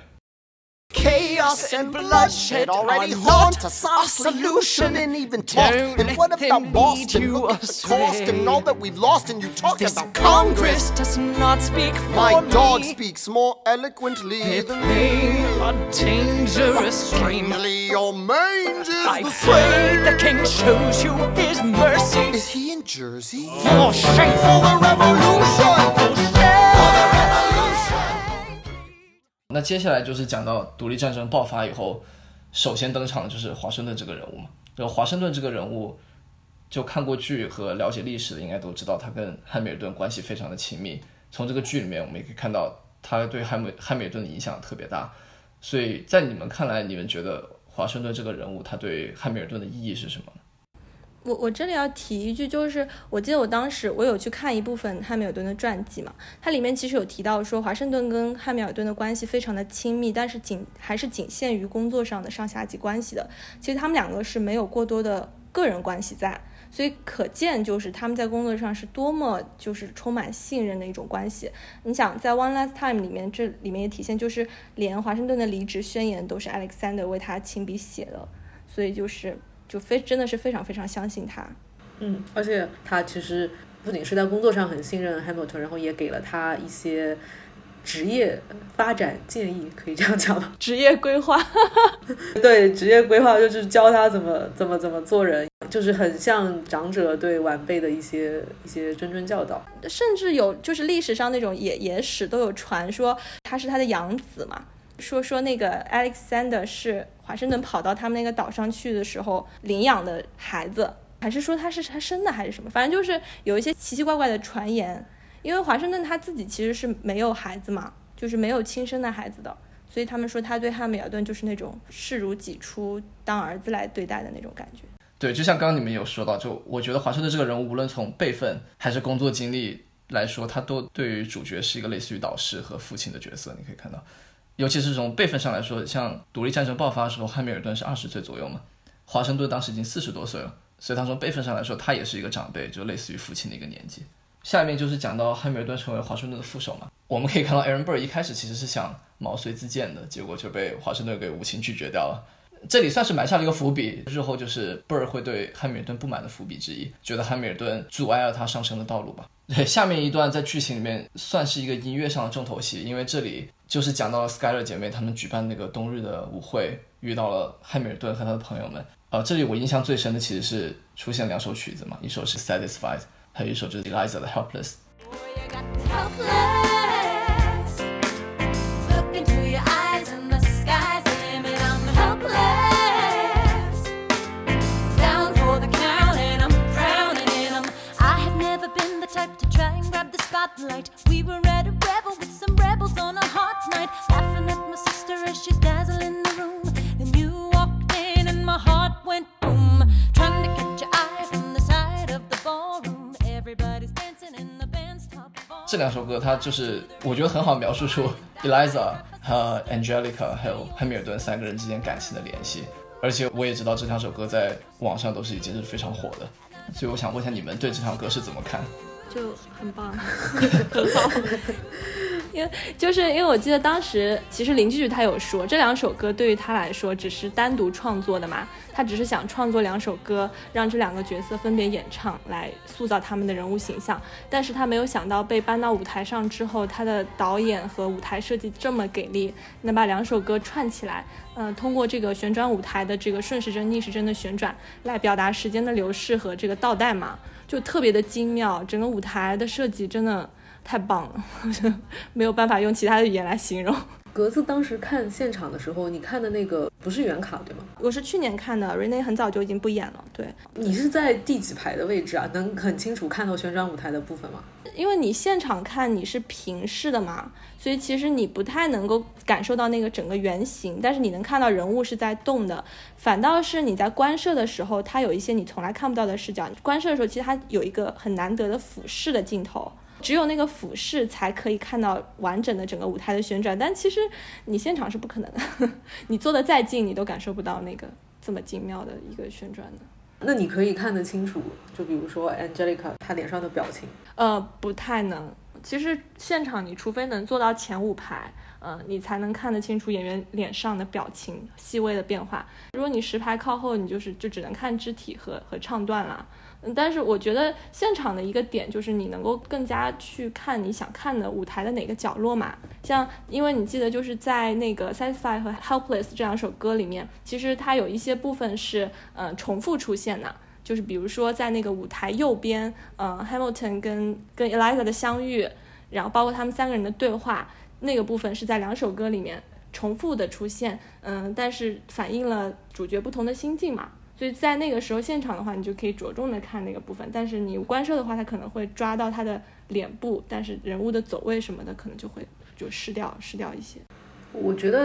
Chaos and bloodshed already haunt us. Our solution and even talk. And what about Boston? Look at the cost and all that we've lost. And you talk about Congress does not speak for my me. dog speaks more eloquently than They me. are dangerous. Strangely, your mange is I the pray same. the king shows you his mercy. Is he in Jersey? For shame, For the revolution! for shame. 那接下来就是讲到独立战争爆发以后，首先登场的就是华盛顿这个人物嘛。然后华盛顿这个人物，就看过剧和了解历史的应该都知道，他跟汉密尔顿关系非常的亲密。从这个剧里面我们也可以看到，他对汉密尔顿的影响特别大。 所以在你们看来，你们觉得华盛顿这个人物他对汉密尔顿的意义是什么呢？ 我这里要提一句，就是我记得我当时我有去看一部分汉密尔顿的传记嘛，它里面其实有提到说华盛顿跟汉密尔顿的关系非常的亲密，但是还是仅限于工作上的上下级关系的。其实他们两个是没有过多的个人关系在，所以可见就是他们在工作上是多么就是充满信任的一种关系。你想在 One Last Time 里面，这里面也体现就是连华盛顿的离职宣言都是 Alexander 为他亲笔写的，所以真的是非常非常相信他。 而且他其实不仅是在工作上很信任 Hamilton， 然后也给了他一些职业发展建议，可以这样讲吗？ 职业规划对，职业规划就是教他怎么做人，就是很像长者对晚辈的一些谆谆教导。 甚至有就是历史上那种野史都有传说他是他的养子嘛，说那个 Alexander 是华盛顿跑到他们那个岛上去的时候领养的孩子，还是说他是他生的还是什么，反正就是有一些奇奇怪怪的传言。因为华盛顿他自己其实是没有孩子嘛，就是没有亲生的孩子的，所以他们说他对汉密尔顿就是那种视如己出，当儿子来对待的那种感觉。 对，就像刚刚你们有说到，就我觉得华盛顿这个人物无论从辈分还是工作经历来说，他都对于主角是一个类似于导师和父亲的角色。你可以看到，尤其是从辈分上来说，像独立战争爆发的时候，汉密尔顿是20岁左右嘛，华盛顿当时已经40多岁了，所以他从辈分上来说，他也是一个长辈，就类似于父亲的一个年纪。下面就是讲到汉密尔顿成为华盛顿的副手嘛，我们可以看到 Aaron Burr 一开始其实是想毛遂自荐的，结果就被华盛顿给无情拒绝掉了。这里算是埋下了一个伏笔，日后就是 Burr 会对汉密尔顿不满的伏笔之一，觉得汉密尔顿阻碍了他上升的道路吧。对，下面一段在剧情里面算是一个音乐上的重头戏，因为这里就是讲到了 Skyler 姐妹她们举办那个冬日的舞会，遇到了汉密尔顿和他的朋友们。这里我印象最深的其实是出现2首曲子嘛，一首是 Satisfied， 还有一首就是 Eliza 的 Helpless。 We were at a revel with some rebels on a hot night, laughing at my sister as she's dazzling the room. Then you walked in and my heart went boom, trying to catch your eye from the side of the ballroom. Everybody's dancing in the band's top bar. 这2首歌它就是我觉得很好描述出 Eliza 和 Angelica 还有汉密尔顿3个人之间感情的联系，而且我也知道这2首歌在网上都是已经是非常火的，所以我想问一下你们对这条歌是怎么看？ 就很棒很好因为我记得当时其实林居他有说这2首歌对于他来说只是单独创作的嘛，他只是想创作2首歌让这2个角色分别演唱来塑造他们的人物形象，但是他没有想到被搬到舞台上之后，他的导演和舞台设计这么给力，能把2首歌串起来，通过这个旋转舞台的这个顺时针逆时针的旋转来表达时间的流逝和这个倒带嘛，就特别的精妙，整个舞台的设计真的太棒了没有办法用其他的语言来形容。 格子当时看现场的时候，你看的那个不是原卡对吗？ 我是去年看的 Renee 很早就已经不演了。对， 你是在第几排的位置啊？能很清楚看到旋转舞台的部分吗？ 因为你现场看你是平视的嘛，所以其实你不太能够感受到那个整个圆形，但是你能看到人物是在动的。反倒是你在观摄的时候，它有一些你从来看不到的视角，观摄的时候其实它有一个很难得的俯视的镜头，只有那个俯视才可以看到完整的整个舞台的旋转，但其实你现场是不可能的你坐得再近你都感受不到那个这么精妙的一个旋转的。 那你可以看得清楚就比如说 Angelica 她脸上的表情？ 不太能，其实现场你除非能坐到前5排，你才能看得清楚演员脸上的表情细微的变化。如果你10排靠后，你就只能看肢体和唱段了。但是我觉得现场的一个点就是你能够更加去看你想看的舞台的哪个角落嘛。像因为你记得就是在那个 Satisfied 和 Helpless 这2首歌里面，其实它有一些部分是重复出现的，就是比如说在那个舞台右边Hamilton 跟 Eliza 的相遇，然后包括他们3个人的对话，那个部分是在2首歌里面重复的出现，但是反映了主角不同的心境嘛。所以在那个时候现场的话，你就可以着重的看那个部分，但是你观摄的话，它可能会抓到他的脸部，但是人物的走位什么的可能就会失掉一些。 我觉得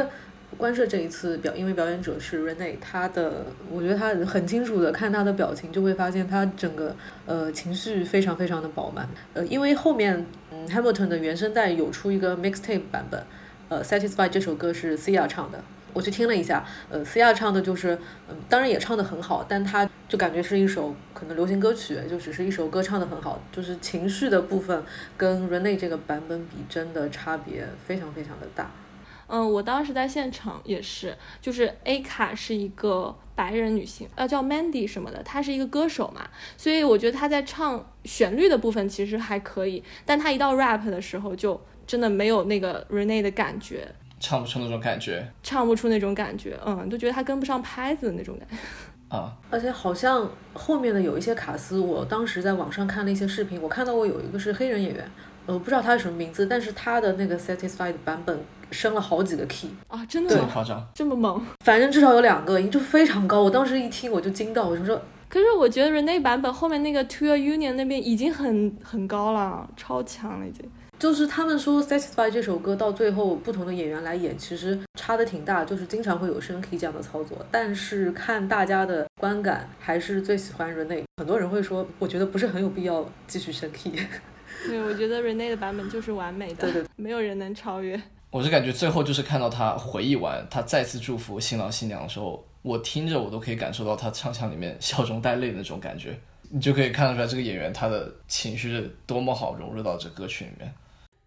关涉这一次因为表演者是 Renee， 我觉得他很清楚的看他的表情，就会发现他整个情绪非常非常的饱满。因为后面Hamilton 的原声带有出一个 mixtape 版本，Satisfied 这首歌是 Sia 唱的。我去听了一下，Sia 唱的就是，当然也唱得很好，但他就感觉是一首可能流行歌曲，就只是一首歌唱得很好，就是情绪的部分跟 Renee 这个版本比，真的差别非常非常的大。 我当时在现场也是，就是 A 卡是一个白人女性，叫 Mandy 什么的，她是一个歌手嘛，所以我觉得她在唱旋律的部分其实还可以，但她一到 rap 的时候就真的没有那个 Renee 的感觉。 唱不出那种感觉， 都觉得他跟不上拍子的那种感觉啊。 而且好像后面的有一些卡司，我当时在网上看了一些视频，我看到过有一个是黑人演员，不知道他是什么名字，但是他的那个 Satisfied 版本升了好几个 key 啊，真的吗？ 这么夸张？ 这么猛？ 反正至少有2个音就非常高，我当时一听我就惊到，我就说。 可是我觉得 Renee 版本后面那个 To Your Union 那边已经很高了，超强了已经。 就是他们说 Satisfied 这首歌到最后不同的演员来演其实差的挺大，就是经常会有升 key 这样的操作，但是看大家的观感还是最喜欢 Renee。 很多人会说我觉得不是很有必要继续升 key。 对，我觉得 Renee 的版本就是完美的， 对， 没有人能超越。 我是感觉最后就是看到他回忆完他再次祝福新郎新娘的时候，我听着我都可以感受到他唱腔里面笑中带泪的那种感觉，你就可以看得出来这个演员他的情绪是多么好融入到这歌曲里面。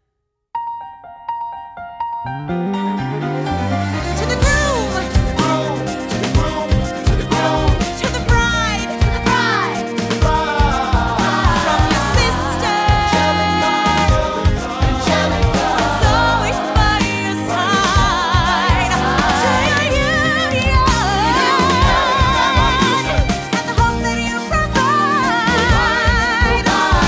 To the groom, to the groom, to the groom, to the bride, to the bride, from your sister, who's always by your side, to your union, and the hope that you provide,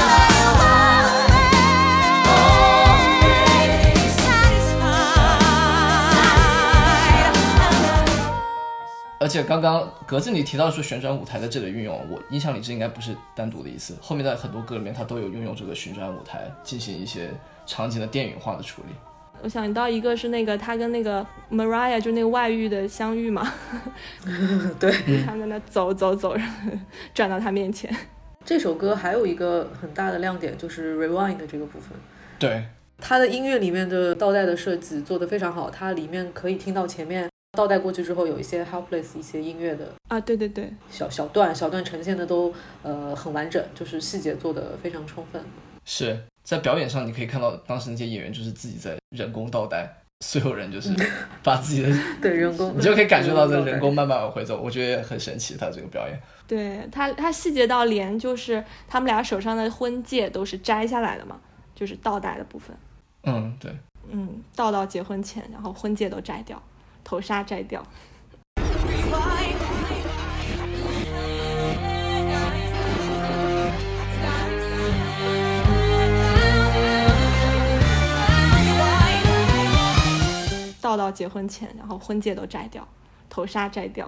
satisfied. 而且刚刚格子你提到说旋转舞台在这里运用，我印象里这应该不是单独的一次，后面在很多歌里面它都有运用这个旋转舞台进行一些场景的电影化的处理。 我想到一个是那个他跟那个 Mariah 就那个外遇的相遇嘛， 对， 他们在那走，然后转到他面前。 这首歌还有一个很大的亮点就是 rewind 的这个部分， 对， 它的音乐里面的倒带的设计做得非常好，它里面可以听到前面倒带过去之后有一些 helpless 一些音乐的啊，对， 小段呈现的都很完整，就是细节做得非常充分。 是在表演上你可以看到当时那些演员就是自己在人工倒带，所有人就是把自己的对人工， 你就可以感受到这人工慢慢往回走，我觉得也很神奇他这个表演。 对，他细节到连就是他们俩手上的婚戒都是摘下来的嘛，就是倒带的部分。 对， 倒到结婚前，然后婚戒都摘掉，头纱摘掉。倒到结婚前，然后婚戒都摘掉，头纱摘掉。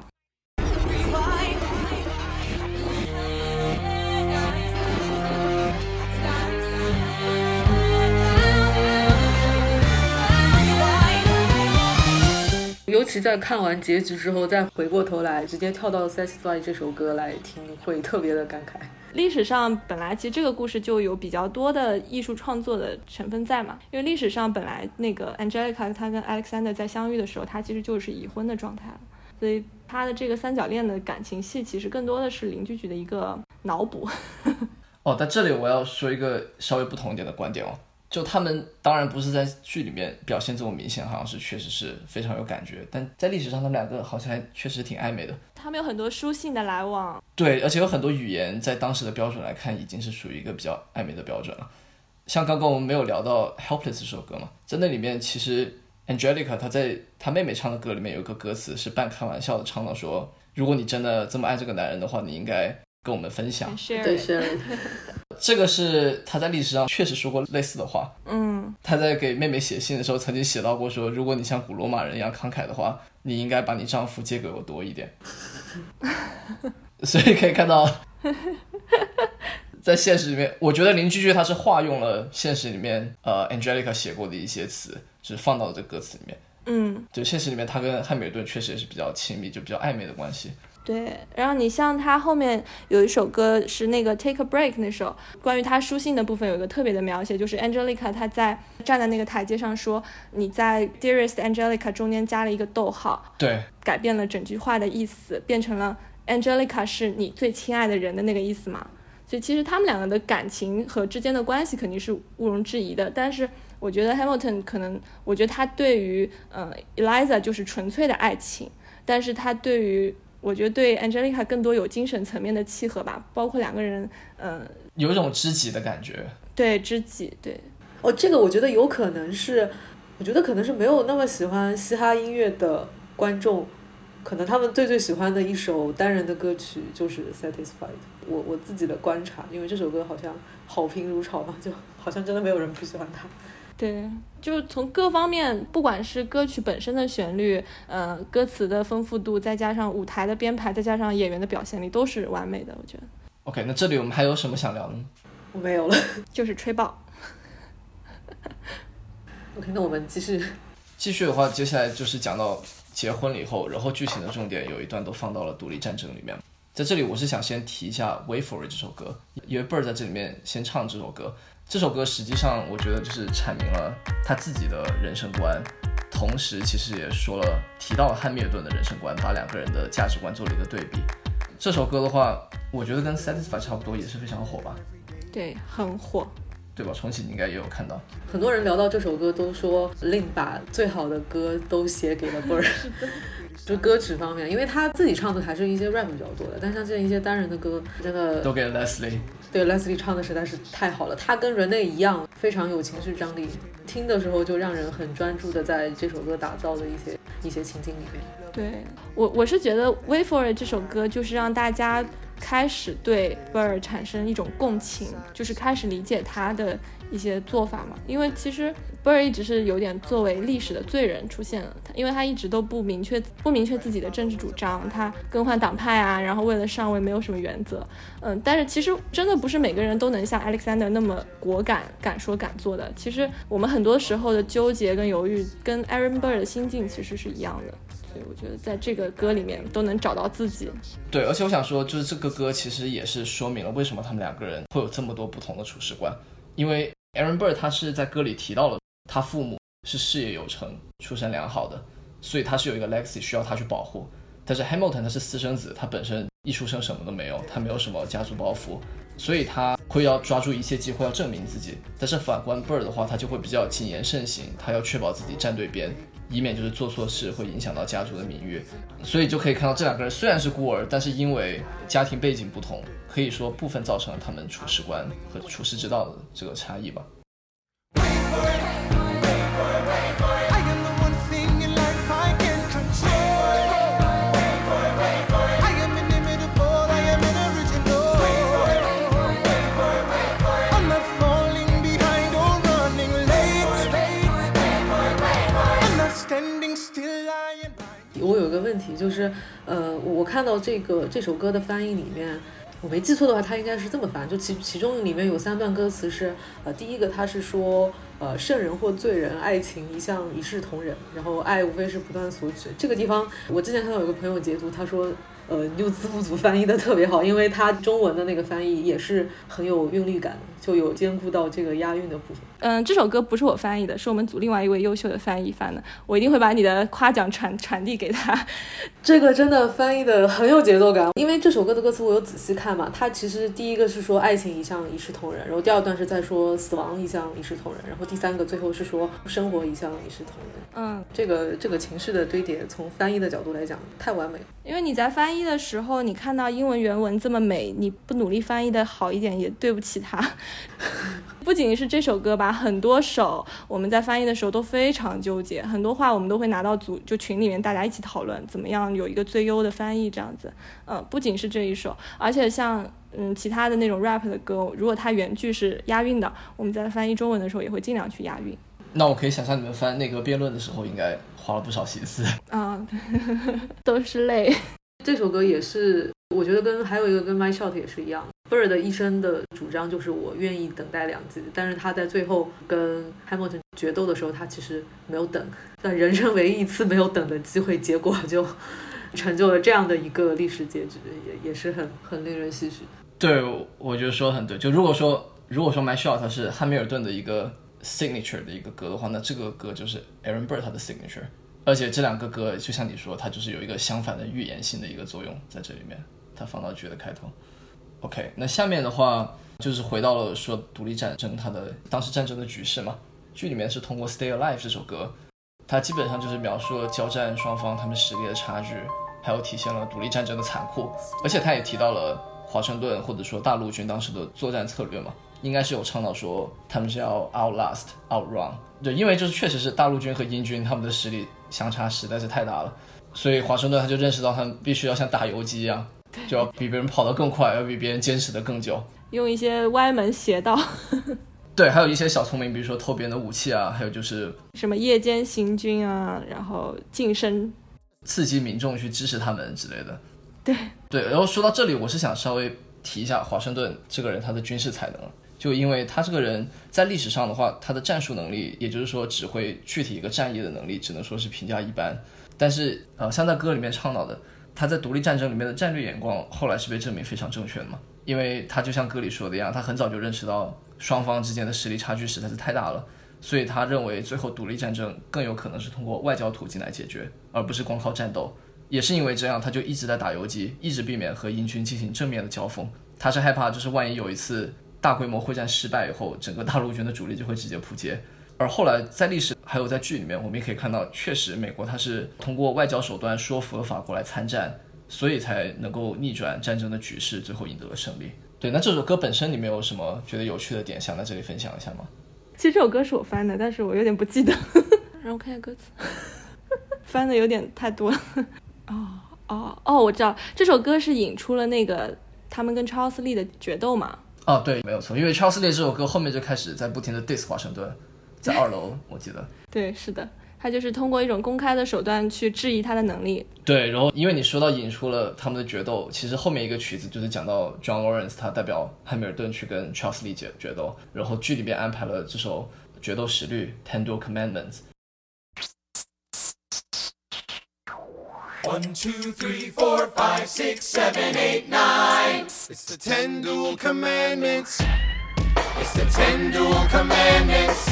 尤其在看完结局之后再回过头来直接跳到 Satisfied 这首歌来听，会特别的感慨。 历史上本来其实这个故事就有比较多的艺术创作的成分在嘛，因为历史上本来那个 Angelica 她跟 Alexander 在相遇的时候，她其实就是已婚的状态了，所以她的这个三角恋的感情戏其实更多的是林居居的一个脑补。 但这里我要说一个稍微不同一点的观点哦，就他们当然不是在剧里面表现这么明显，好像是确实是非常有感觉，但在历史上他们两个好像还确实挺暧昧的。 他们有很多书信的来往，对， 而且有很多语言在当时的标准来看已经是属于一个比较暧昧的标准了。像刚刚我们没有聊到 Helpless 这首歌嘛，在那里面其实 Angelica 她在她妹妹唱的歌里面有一个歌词是半开玩笑的唱到说，如果你真的这么爱这个男人的话，你应该跟我们分享。 对， 这个是他在历史上确实说过类似的话。他在给妹妹写信的时候曾经写到过说，如果你像古罗马人一样慷慨的话，你应该把你丈夫借给我多一点。所以可以看到在现实里面，我觉得林居居他是化用了现实里面Angelica 写过的一些词，就是放到这歌词里面。 就现实里面他跟汉密尔顿确实也是比较亲密，就比较暧昧的关系。 对，然后你像他后面有一首歌是那个 Take a Break 那首，关于他书信的部分有一个特别的描写，就是 Angelica 她在站在那个台阶上说，你在 Dearest Angelica 中间加了一个逗号， 对， 改变了整句话的意思，变成了 Angelica 是你最亲爱的人的那个意思嘛。所以其实他们两个的感情和之间的关系肯定是毋庸置疑的，但是我觉得 Hamilton 可能，我觉得他对于Eliza 就是纯粹的爱情，但是他对于我觉得对 Angelica 更多有精神层面的契合吧，包括两个人有一种知己的感觉。 对，知己，对。 这个我觉得有可能是，我觉得可能是没有那么喜欢嘻哈音乐的观众，可能他们最喜欢的一首单人的歌曲就是 Satisfied。我自己的观察，因为这首歌好像好评如潮嘛，就好像真的没有人不喜欢它。 对，就从各方面，不管是歌曲本身的旋律，歌词的丰富度，再加上舞台的编排，再加上演员的表现力，都是完美的，我觉得。 OK， 那这里我们还有什么想聊的呢？ 我没有了， 就是吹爆。 OK， 那我们继续。 继续的话，接下来就是讲到结婚了以后，然后剧情的重点有一段都放到了独立战争里面。在这里我是想先提一下 Wait For It 这首歌，因为 Bird 在这里面先唱这首歌。这首歌实际上我觉得就是阐明了他自己的人生观，同时其实也提到了汉密尔顿的人生观，把两个人的价值观做了一个对比。这首歌的话，我觉得跟 Satisfy 差不多，也是非常火吧。 对，很火。 对吧？重启你应该也有看到， 很多人聊到这首歌都说Lin把最好的歌都写给了 Bird。就歌曲方面，因为他自己唱的还是一些 rap 比较多的，但像这一些单人的歌真的都给 Leslie。 对， Leslie 唱的实在是太好了，他跟Renee一样非常有情绪张力，听的时候就让人很专注的在这首歌打造的一些情境里面。 对，我是觉得 Wait For It 这首歌就是让大家开始对 Bird 产生一种共情，就是开始理解他的一些做法嘛。因为其实 Bird 一直是有点作为历史的罪人出现了，因为他一直都不明确自己的政治主张，他更换党派啊，然后为了上位没有什么原则。但是其实真的不是每个人都能像 Alexander 那么果敢，敢说敢做的。其实我们很多时候的纠结跟犹豫跟 Aaron Burr 的心境其实是一样的，所以我觉得在这个歌里面都能找到自己。 对，而且我想说就是这个歌其实也是说明了为什么他们两个人会有这么多不同的处事观。因为 Aaron Burr 他是在歌里提到了他父母是事业有成出身良好的，所以他是有一个 legacy 需要他去保护。但是 Hamilton 他是私生子，他本身一出生什么都没有，他没有什么家族包袱，所以他会要抓住一切机会要证明自己。但是反观 Bird 的话，他就会比较谨言慎行，他要确保自己站对边，以免就是做错事会影响到家族的名誉。所以就可以看到这两个人虽然是孤儿，但是因为家庭背景不同，可以说部分造成了他们处事观和处世之道的这个差异吧。 我有一个问题，就是我看到这首歌的翻译里面，我没记错的话，它应该是这么翻，就其中里面有3段歌词是，第一个它是说，圣人或罪人，爱情一向一视同仁，然后爱无非是不断索取。这个地方我之前看到有个朋友截图，他说牛字幕组翻译的特别好，因为他中文的那个翻译也是很有韵律感，就有兼顾到这个押韵的部分。 这首歌不是我翻译的，是我们组另外一位优秀的翻译翻的，我一定会把你的夸奖传递给他。 这个真的翻译的很有节奏感，因为这首歌的歌词我有仔细看嘛，它其实第一个是说爱情一向一视同仁，然后第二段是在说死亡一向一视同仁，然后第三个最后是说生活一向一视同仁。这个情绪的堆叠，从翻译的角度来讲太完美了。 因为你在翻译的时候，你看到英文原文这么美，你不努力翻译的好一点也对不起它。不仅是这首歌吧，很多首我们在翻译的时候都非常纠结，很多话我们都会拿到就群里面大家一起讨论，怎么样有一个最优的翻译这样子。不仅是这一首，而且像其他的那种 rap 的歌，如果它原句是押韵的，我们在翻译中文的时候也会尽量去押韵。 那我可以想象你们翻那个辩论的时候应该花了不少心思啊，都是泪。 这首歌也是我觉得还有一个跟 My Shot 也是一样， Bird 的一生的主张就是我愿意等待2季，但是他在最后跟 Hamilton 决斗的时候他其实没有等，但人生唯一一次没有等的机会，结果就成就了这样的一个历史结局，也是很令人唏嘘。 对，我觉得说得很对。就如果说 My Shot 它是汉密尔顿的一个 signature 的一个歌的话，那这个歌就是 Aaron Burr 他的 signature。而且这两个歌就像你说，它就是有一个相反的预言性的一个作用在这里面，它放到剧的开头。OK， 那下面的话就是回到了说独立战争它的当时战争的局势嘛。剧里面是通过 Stay Alive 这首歌，它基本上就是描述了交战双方他们实力的差距，还有体现了独立战争的残酷。而且它也提到了华盛顿或者说大陆军当时的作战策略嘛，应该是有倡导说他们是要 outlast outrun。 对，因为就是确实是大陆军和英军他们的实力相差实在是太大了，所以华盛顿他就认识到他们必须要像打游击一样，就要比别人跑得更快，要比别人坚持得更久， 用一些歪门邪道对，还有一些小聪明，比如说偷别人的武器啊，还有就是什么夜间行军啊，然后晋升， 刺激民众去支持他们之类的。 对， 然后说到这里，我是想稍微提一下华盛顿这个人他的军事才能，就因为他这个人在历史上的话，他的战术能力，也就是说指挥具体一个战役的能力，只能说是评价一般。但是像在歌里面倡导的，他在独立战争里面的战略眼光后来是被证明非常正确的嘛，因为他就像歌里说的一样，他很早就认识到双方之间的实力差距实在是太大了，所以他认为最后独立战争更有可能是通过外交途径来解决，而不是光靠战斗。也是因为这样，他就一直在打游击，一直避免和英军进行正面的交锋。他是害怕就是万一有一次大规模会战失败以后，整个大陆军的主力就会直接扑街。而后来在历史还有在剧里面，我们也可以看到，确实美国他是通过外交手段说服了法国来参战，所以才能够逆转战争的局势，最后赢得了胜利。对，那这首歌本身你们有什么觉得有趣的点想在这里分享一下吗？ 其实这首歌是我翻的，但是我有点不记得让我看一下歌词翻的有点太多了我知道这首歌是引出了那个他们跟 Charles Lee 的决斗嘛。 对，没有错，因为 Charles Lee 这首歌后面就开始在不停的 diss 华盛顿，在2楼我记得。 对，是的，他就是通过一种公开的手段去质疑他的能力。 对，然后因为你说到引出了他们的决斗，其实后面一个曲子就是讲到 John Lawrence 他代表汉密尔顿去跟 Charles Lee 决斗，然后剧里面安排了这首决斗实律 Ten Duel Commandments。 1, 2, 3, 4, 5, 6, 7, 8, 9. It's the 10 Duel Commandments. It's the 10 Duel Commandments.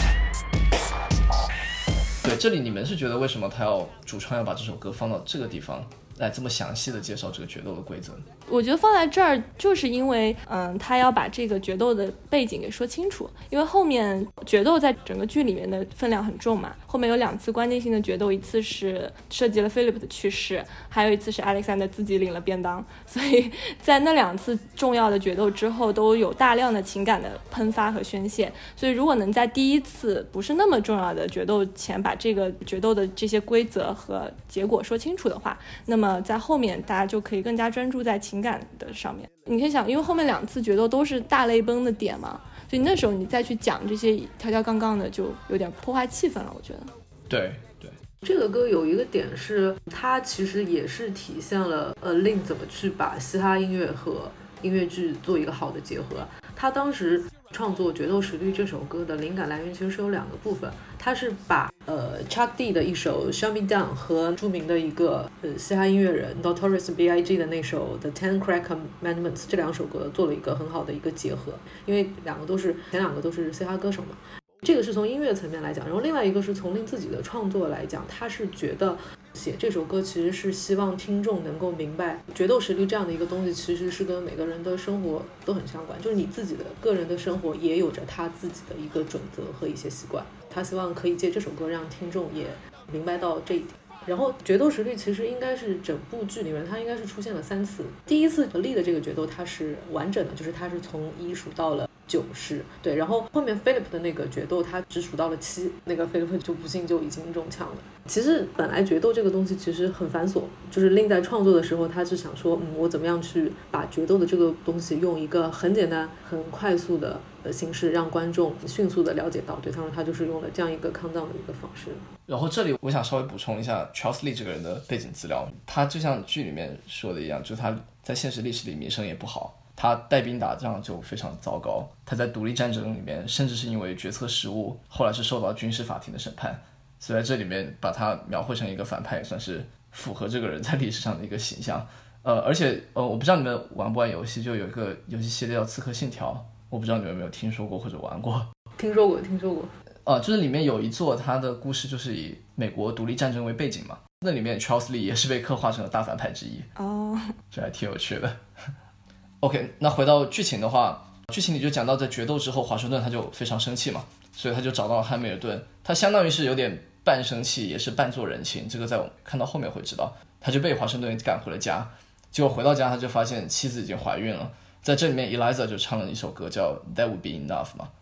对，这里你们是觉得为什么他主创要把这首歌放到这个地方来这么详细的介绍这个决斗的规则？ 我觉得放在这儿就是因为他要把这个决斗的背景给说清楚，因为后面决斗在整个剧里面的分量很重嘛，后面有2次关键性的决斗，一次是涉及了 Philip 的去世，还有一次是 Alexander 自己领了便当，所以在那2次重要的决斗之后都有大量的情感的喷发和宣泄，所以如果能在第一次不是那么重要的决斗前把这个决斗的这些规则和结果说清楚的话，那么在后面大家就可以更加专注在情感的上面。你可以想，因为后面2次决斗都是大泪崩的点嘛，所以那时候你再去讲这些条条杠杠的就有点破坏气氛了，我觉得。 对， 这个歌有一个点是它其实也是体现了Lin 怎么去把嘻哈音乐和音乐剧做一个好的结合。他当时创作《决斗实律》这首歌的灵感来源其实是有2个部分，他是把Chuck D 的一首 Shut Me Down 和著名的一个嘻哈音乐人 Notorious B.I.G 的那首 The 10 Crack Commandments 这2首歌做了一个很好的一个结合，因为前2个都是嘻哈歌手嘛。这个是从音乐层面来讲，然后另外一个是从Lin自己的创作来讲，他是觉得写这首歌其实是希望听众能够明白决斗实力这样的一个东西其实是跟每个人的生活都很相关，就是你自己的个人的生活也有着他自己的一个准则和一些习惯，他希望可以借这首歌让听众也明白到这一点。然后决斗实律其实应该是整部剧里面它应该是出现了3次，第一次立的这个决斗它是完整的，就是它是从1数到了9式，对，然后后面 Philip 的那个决斗他只数到了7，那个 Philip 就不幸就已经中枪了。其实本来决斗这个东西其实很繁琐，就是 Lin 在创作的时候他是想说我怎么样去把决斗的这个东西用一个很简单很快速的形式让观众迅速的了解到，对，他就是用了这样一个 countdown 的一个方式。 然后这里我想稍微补充一下 Charles Lee 这个人的背景资料，他就像剧里面说的一样，就是他在现实历史里名声也不好， 他带兵打仗就非常糟糕，他在独立战争里面甚至是因为决策失误，后来是受到军事法庭的审判，所以在这里面把他描绘成一个反派，也算是符合这个人在历史上的一个形象。而且我不知道你们玩不玩游戏，就有一个游戏系列叫《刺客信条》，我不知道你们有没有听说过或者玩过。 听说过。 就是里面有一座它的故事就是以美国独立战争为背景嘛，那里面 Charles Lee 也是被刻画成了大反派之一。这还挺有趣的。OK， 那回到剧情的话，剧情里就讲到在决斗之后，华盛顿他就非常生气嘛，所以他就找到了汉密尔顿，他相当于是有点半生气也是半做人情，这个在我们看到后面会知道。他就被华盛顿赶回了家，结果回到家他就发现妻子已经怀孕了。在这里面 Eliza 就唱了一首歌叫 That Would Be Enough 嘛。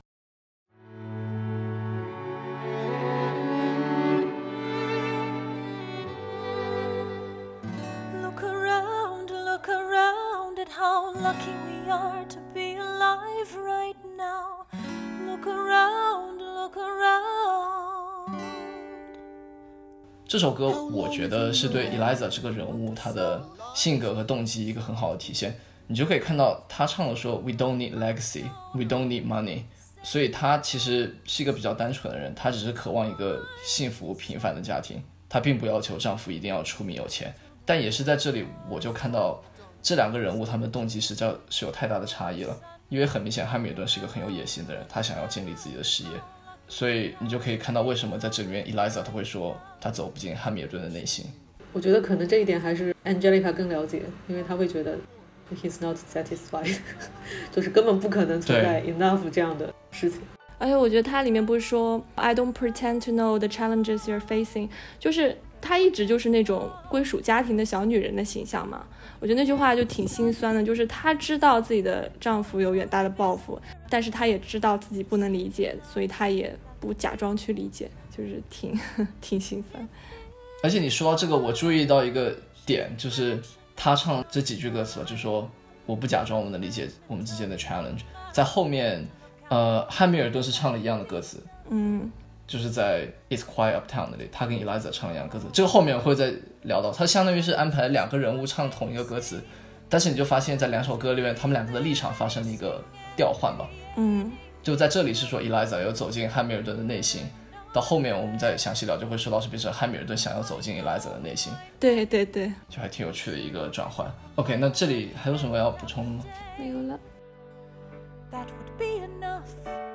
How lucky we are to be alive right now. Look around, look around. 这首歌我觉得是对 Eliza 这个人物她的性格和动机一个很好的体现。你就可以看到她唱的说 We don't need legacy, we don't need money. 所以她其实是一个比较单纯的人，她只是渴望一个幸福平凡的家庭，她并不要求丈夫一定要出名有钱。但也是在这里我就看到这两个人物他们的动机实在是有太大的差异了，因为很明显汉密尔顿是一个很有野心的人，他想要建立自己的事业，所以你就可以看到为什么在这里面 Eliza 他会说他走不进汉密尔顿的内心。 我觉得可能这一点还是 Angelica 更了解，因为他会觉得 he's not satisfied 就是根本不可能存在 enough 这样的事情。 而且我觉得它里面不是说 I don't pretend to know the challenges you're facing， 就是她一直就是那种归属家庭的小女人的形象嘛。我觉得那句话就挺心酸的，就是她知道自己的丈夫有远大的抱负，但是她也知道自己不能理解，所以她也不假装去理解，就是挺心酸。 而且你说到这个，我注意到一个点，就是她唱这几句歌词，就说我不假装我能理解我们之间的 challenge， 在后面汉密尔顿是唱了一样的歌词，就是在 It's Quiet Uptown 那里，他跟 Eliza 唱一样歌词，这个后面会再聊到，他相当于是安排两个人物唱同一个歌词，但是你就发现在两首歌里面他们两个的立场发生了一个调换吧。就在这里是说 Eliza 有走进汉密尔顿的内心，到后面我们再详细聊就会说到是变成汉密尔顿想要走进 Eliza 的内心。 对对对， 就还挺有趣的一个转换。 OK， 那这里还有什么要补充的吗？ 没有了。 That would be enough.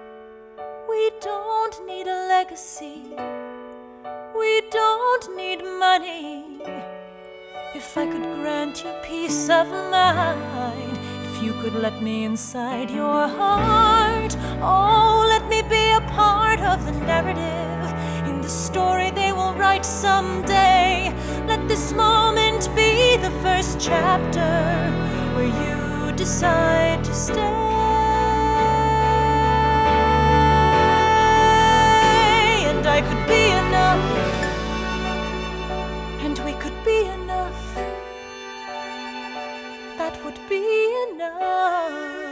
We don't need a legacy. We don't need money. If I could grant you peace of mind, if you could let me inside your heart, oh, let me be a part of the narrative in the story they will write someday. Let this moment be the first chapter where you decide to stay. I could be enough, and we could be enough. That would be enough.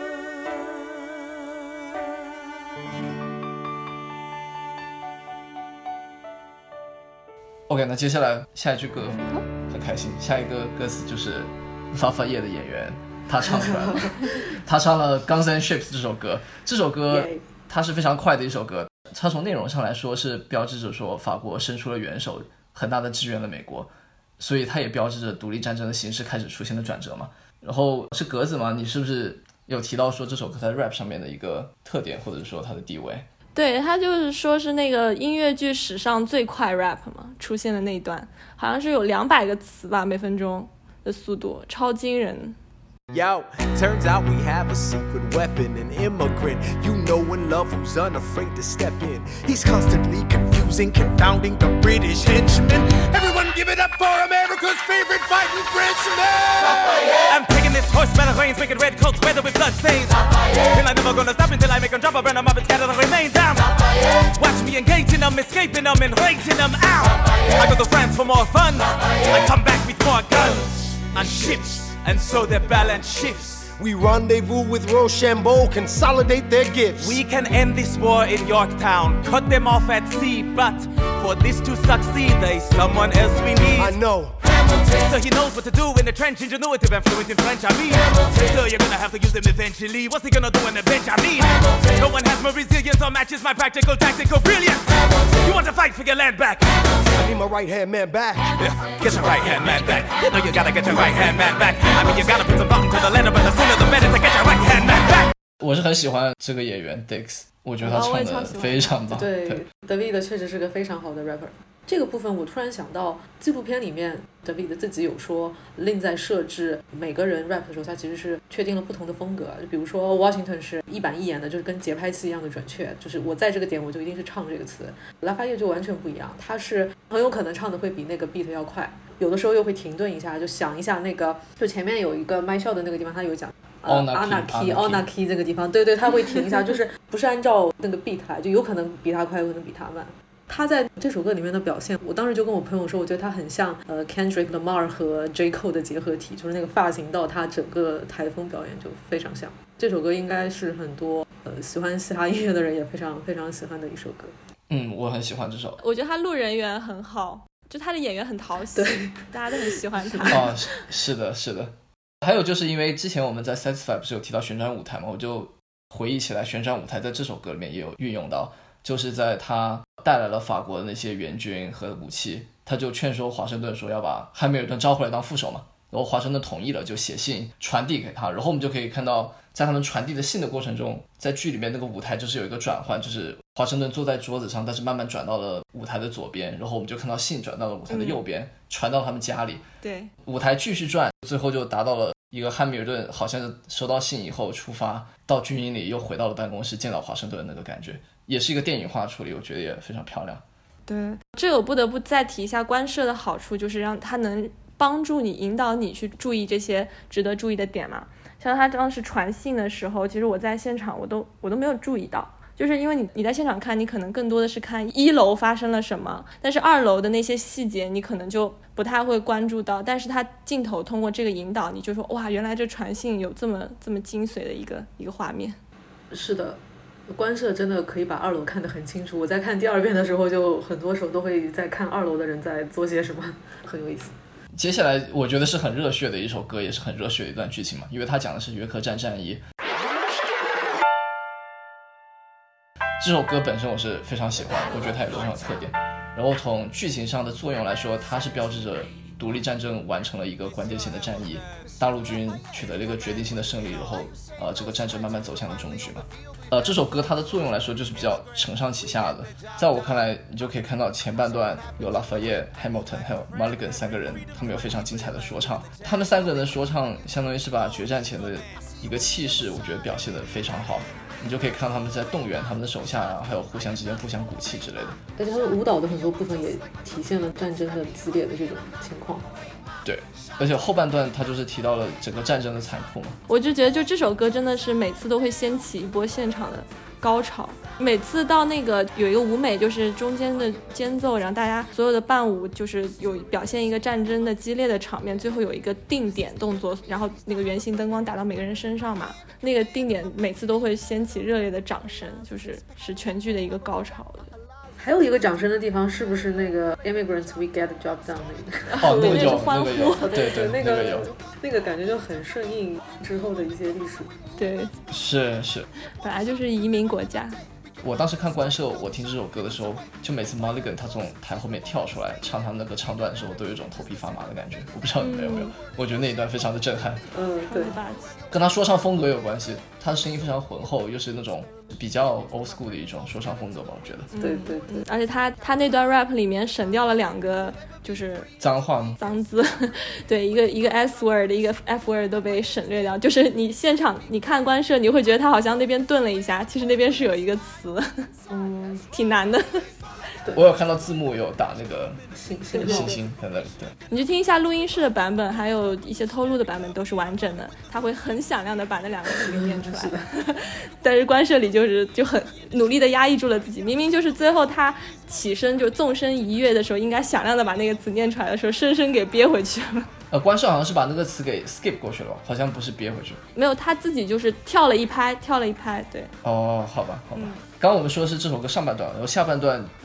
OK， 那接下来下一句歌很开心，下一个歌词就是拉法叶的演员他唱出来了他唱了 Guns and Ships 这首歌，这首歌它是非常快的一首歌，它从内容上来说是标志着说法国伸出了援手，很大的支援了美国，所以它也标志着独立战争的形势开始出现了转折嘛。然后是格子嘛，你是不是有提到说这首歌在 rap 上面的一个特点，或者说它的地位？ 对，他就是说是那个音乐剧史上最快 rap 嘛，出现的那一段好像是有200个词吧，每分钟的速度，超惊人。 Yo, turns out we have a secret weapon, an immigrant you know and love who's unafraid to step in. He's constantly confusing, confounding the British henchmen. Everyone give it up for America's favorite fighting Frenchman. I'm taking this horse by the reins, making red coats weather with blood stains. And I'm never gonna stop until I make them drop, burn them up and scatter the remains down. Watch me engaging them, escaping them and raising them out. I go to France for more fun, I come back with more guns on ships.And so their balance shifts. We rendezvous with Rochambeau, consolidate their gifts. We can end this war in Yorktown, cut them off at sea. But for this to succeed, there's someone else we need. I know. So he knows what to do in the trench, ingenuitive and fluent in French, I mean. So you're gonna have to use him eventually. What's he gonna do on the bench, I mean? No one has more resilience or matches my practical tactical brilliance. You want to fight for your land back? I need my right hand man back. Yeah, get your right hand man back. You know you gotta get your right hand man back. I mean you gotta put some thought into the letter, but the sooner the better to get your right hand man back. 我是很喜欢这个演员 Dix， 我觉得他唱的非常棒。 对 ，David 确实是个非常好的 rapper。这个部分我突然想到，纪录片里面 David 自己有说 Lin 在设置每个人 rap 的时候，他其实是确定了不同的风格。就比如说 Washington 是一板一眼的，就是跟节拍器一样的准确，就是我在这个点我就一定是唱这个词。拉法叶就完全不一样，他是很有可能唱的会比那个 beat 要快，有的时候又会停顿一下，就想一下那个，就前面有一个麦笑的那个地方，他有讲。Anarchy 这个地方，对对，他会停一下，就是不是按照那个 beat 来，就有可能比他快，有可能比他慢。他在这首歌里面的表现，我当时就跟我朋友说，我觉得他很像Kendrick Lamar 和 J. Cole 的结合体，就是那个发型到他整个台风表演就非常像。这首歌应该是很多喜欢嘻哈音乐的人也非常非常喜欢的一首歌。 我很喜欢这首。 我觉得他路人缘很好，就他的演员很讨喜，大家都很喜欢他。 哦，是的，是的。还有就是因为之前我们在 Satisfy 不是有提到旋转舞台嘛，我就回忆起来旋转舞台在这首歌里面也有运用到，就是在他带来了法国的那些援军和武器，他就劝说华盛顿说要把汉密尔顿招回来当副手嘛，然后华盛顿同意了，就写信传递给他，然后我们就可以看到在他们传递的信的过程中，在剧里面那个舞台就是有一个转换，就是华盛顿坐在桌子上，但是慢慢转到了舞台的左边，然后我们就看到信转到了舞台的右边，传到他们家里， 对， 舞台继续转，最后就达到了一个汉密尔顿好像是收到信以后出发到军营里，又回到了办公室见到华盛顿的那个感觉，也是一个电影化处理，我觉得也非常漂亮。 对，这个我不得不再提一下官摄的好处，就是让它能帮助你引导你去注意这些值得注意的点嘛。像他当时传信的时候，其实我在现场我都没有注意到，就是因为你在现场看，你可能更多的是看1楼发生了什么，但是2楼的那些细节你可能就不太会关注到，但是他镜头通过这个引导，你就说哇，原来这传信有这么精髓的一个画面。 是的，官摄真的可以把2楼看得很清楚，我在看第2遍的时候就很多时候都会在看2楼的人在做些什么，很有意思。 接下来我觉得是很热血的一首歌，也是很热血的一段剧情嘛，因为它讲的是约克站战役。这首歌本身我是非常喜欢，我觉得它有非常有特点，然后从剧情上的作用来说，它是标志着独立战争完成了一个关键性的战役，大陆军取得了一个决定性的胜利，然后这个战争慢慢走向了终局嘛。这首歌它的作用来说就是比较承上启下的，在我看来你就可以看到前半段有 Lafayette、Hamilton 还有 Mulligan 3个人，他们有非常精彩的说唱，他们3个人的说唱相当于是把决战前的一个气势我觉得表现得非常好，你就可以看到他们在动员他们的手下啊，还有互相之间互相鼓气之类的。 而且他们舞蹈的很多部分也体现了战争的激烈的这种情况。 对，而且后半段他就是提到了整个战争的残酷嘛。 我就觉得就这首歌真的是每次都会掀起一波现场的高潮，每次到那个有一个舞美，就是中间的间奏，然后大家所有的伴舞就是有表现一个战争的激烈的场面，最后有一个定点动作，然后那个圆形灯光打到每个人身上嘛，那个定点每次都会掀起热烈的掌声，是全剧的一个高潮。 还有一个掌声的地方是不是那个 Immigrants We Get the Job Done 那个？ 哦，那个有， 欢呼， 对，那个有， 那个感觉就很顺应之后的一些历史。 对， 是， 本来就是移民国家。 我当时看官摄，我听这首歌的时候，就每次 Mulligan 他从台后面跳出来唱他那个唱段的时候，都有一种头皮发麻的感觉。我不知道你们有没有，我觉得那一段非常的震撼。 对， 跟他说唱风格有关系，他的声音非常浑厚，又是那种比较 old school 的一种说唱风格吧，我觉得。 对， 而且他那段 rap 里面省掉了2个就是脏话吗？ 脏字，对，一个 S word 一个 F word 都被省略掉，就是你现场你看官摄，你会觉得他好像那边顿了一下，其实那边是有一个词，挺难的。 我有看到字幕有打那个星在那里，对， 你去听一下录音室的版本，还有一些偷录的版本都是完整的，他会很响亮的把那2个字给念出来。但是官摄里就很努力的压抑住了自己，明明就是最后他起身就纵身一跃的时候，应该响亮的把那个词念出来的时候，深深给憋回去了。 官摄好像是把那个词给 skip 过去了，好像不是憋回去。 没有，他自己就是跳了一拍，对。 哦，好吧。刚刚我们说的是这首歌上半段，然后下半段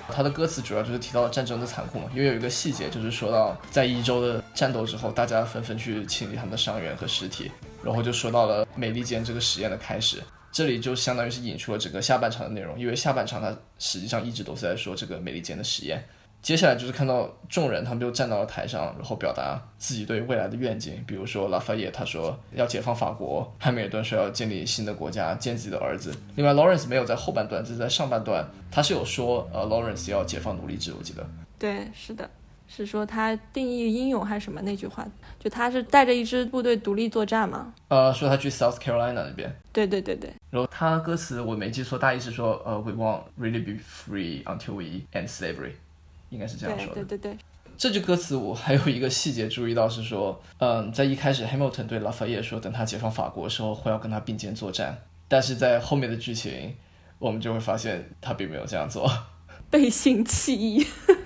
他的歌词主要就是提到了战争的残酷嘛，因为有一个细节就是说到在伊州的战斗之后，大家纷纷去清理他们的伤员和尸体，然后就说到了美利坚这个实验的开始。这里就相当于是引出了整个下半场的内容，因为下半场它实际上一直都是在说这个美利坚的实验。接下来就是看到众人他们就站到了台上，然后表达自己对未来的愿景，比如说拉法叶他说要解放法国，汉密尔顿说要建立新的国家，见自己的儿子。另外 Lawrence 没有在后半段，只是在上半段他是有说Lawrence 要解放奴隶制，我记得。 对，是的，是说他定义英勇还是什么那句话，就他是带着一支部队独立作战嘛。 说他去 South Carolina 那边。 对对对对。 然后他歌词我没记错，大意是说we won't really be free until we end slavery， 应该是这样说的。 对对对对。 这句歌词我还有一个细节注意到是说，在一开始 Hamilton 对拉法叶说等他解放法国的时候会要跟他并肩作战，但是在后面的剧情我们就会发现他并没有这样做， 背信弃义。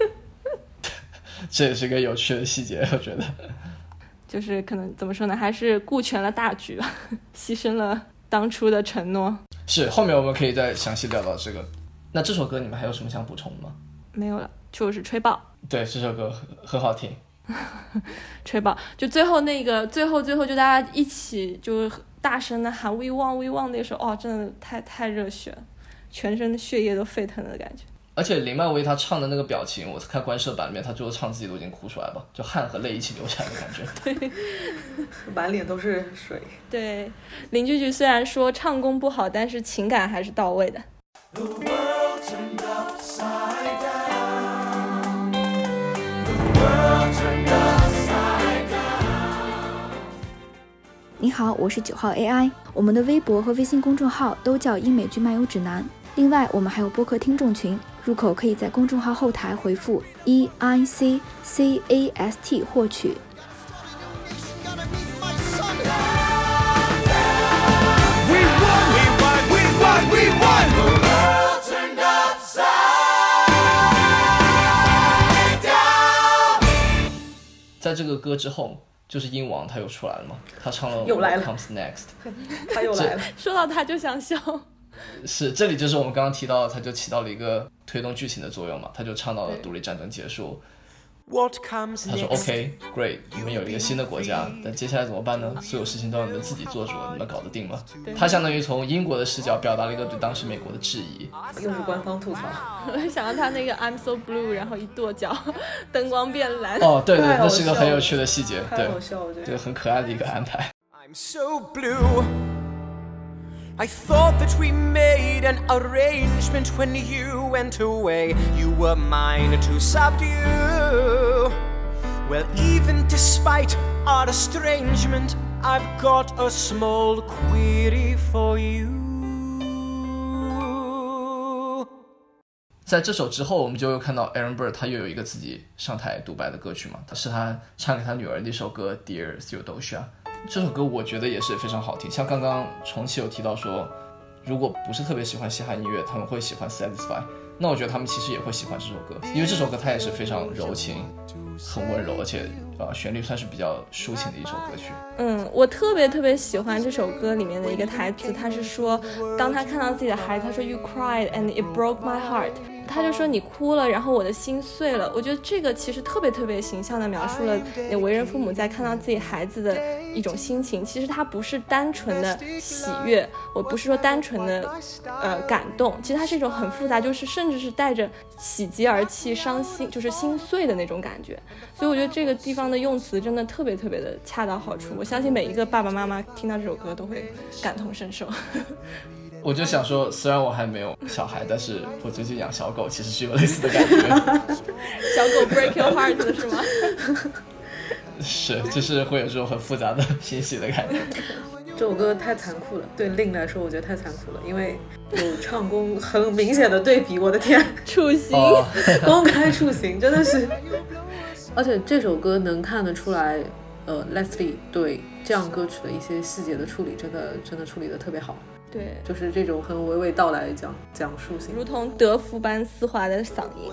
这也是个有趣的细节，我觉得就是可能怎么说呢，还是顾全了大局吧，牺牲了当初的承诺。 是，后面我们可以再详细聊到这个。那这首歌你们还有什么想补充的吗？ 没有了，就是吹爆。 对，这首歌很好听。 吹爆，就最后那个最后就大家一起就大声的喊 We want We want， 那时候真的太热血了，全身的血液都沸腾的感觉。 而且林曼威他唱的那个表情，我看官摄版里面他最后唱自己都已经哭出来了，就汗和泪一起流下来的感觉。 对， 满脸都是水。 对，林句句虽然说唱功不好，但是情感还是到位的。 你好，我是9号 AI， 我们的微博和微信公众号都叫英美剧漫游指南。另外，我们还有播客听众群，入口可以在公众号后台回复 EICCAST 获取。 在这个歌之后，就是鹰王他又出来了嘛，他唱了又来了 What Comes Next， 他又来了。 说到他就想笑。 是，这里就是我们刚刚提到，他就起到了一个推动剧情的作用嘛，他就唱到了独立战争结束。 What comes 他说 next? OK great， 你们有一个新的国家，但接下来怎么办呢？所有事情都要你们自己做主，你们搞得定吗？他相当于从英国的视角表达了一个对当时美国的质疑， 又是官方吐槽。 我想到他那个 I'm so blue， 然后一跺脚，灯光变蓝。 哦，对对，那是个很有趣的细节， 太好笑了， 对，很可爱的一个安排。 I'm so blue. I thought that we made an arrangement when you went away. You were mine to subdue. Well, even despite our estrangement, I've got a small query for you. 在这首之后，我们就又看到 Aaron Burr 他又有一个自己上台独白的歌曲嘛，是他唱给他女儿的一首歌 Dear Theodosia。这首歌我觉得也是非常好听，像刚刚重启有提到说，如果不是特别喜欢嘻哈音乐，他们会喜欢 Satisfy， 那我觉得他们其实也会喜欢这首歌，因为这首歌它也是非常柔情，很温柔，而且旋律算是比较抒情的一首歌曲。 我特别喜欢这首歌里面的一个台词，他是说，当他看到自己的孩子，他说 You cried and it broke my heart， 他就说你哭了，然后我的心碎了。我觉得这个其实特别形象地描述了为人父母在看到自己孩子的一种心情。其实它不是单纯的喜悦，我不是说单纯的感动，其实它是一种很复杂，就是甚至是带着喜极而泣、伤心，就是心碎的那种感觉。所以我觉得这个地方的用词真的特别的恰到好处。我相信每一个爸爸妈妈听到这首歌都会感同身受。 我就想说，虽然我还没有小孩，但是我最近养小狗，其实是有类似的感觉。 小狗 break your heart 是吗？ 是，就是会有这种很复杂的欣喜的感觉。 这首歌太残酷了，对令来说我觉得太残酷了，因为有唱功很明显的对比，我的天， 处刑， 公开处刑，真的是。而且这首歌能看得出来Leslie 对这样歌曲的一些细节的处理真的处理得特别好。 对， 就是这种很娓娓道来讲述性， 如同德芙般丝滑的嗓音。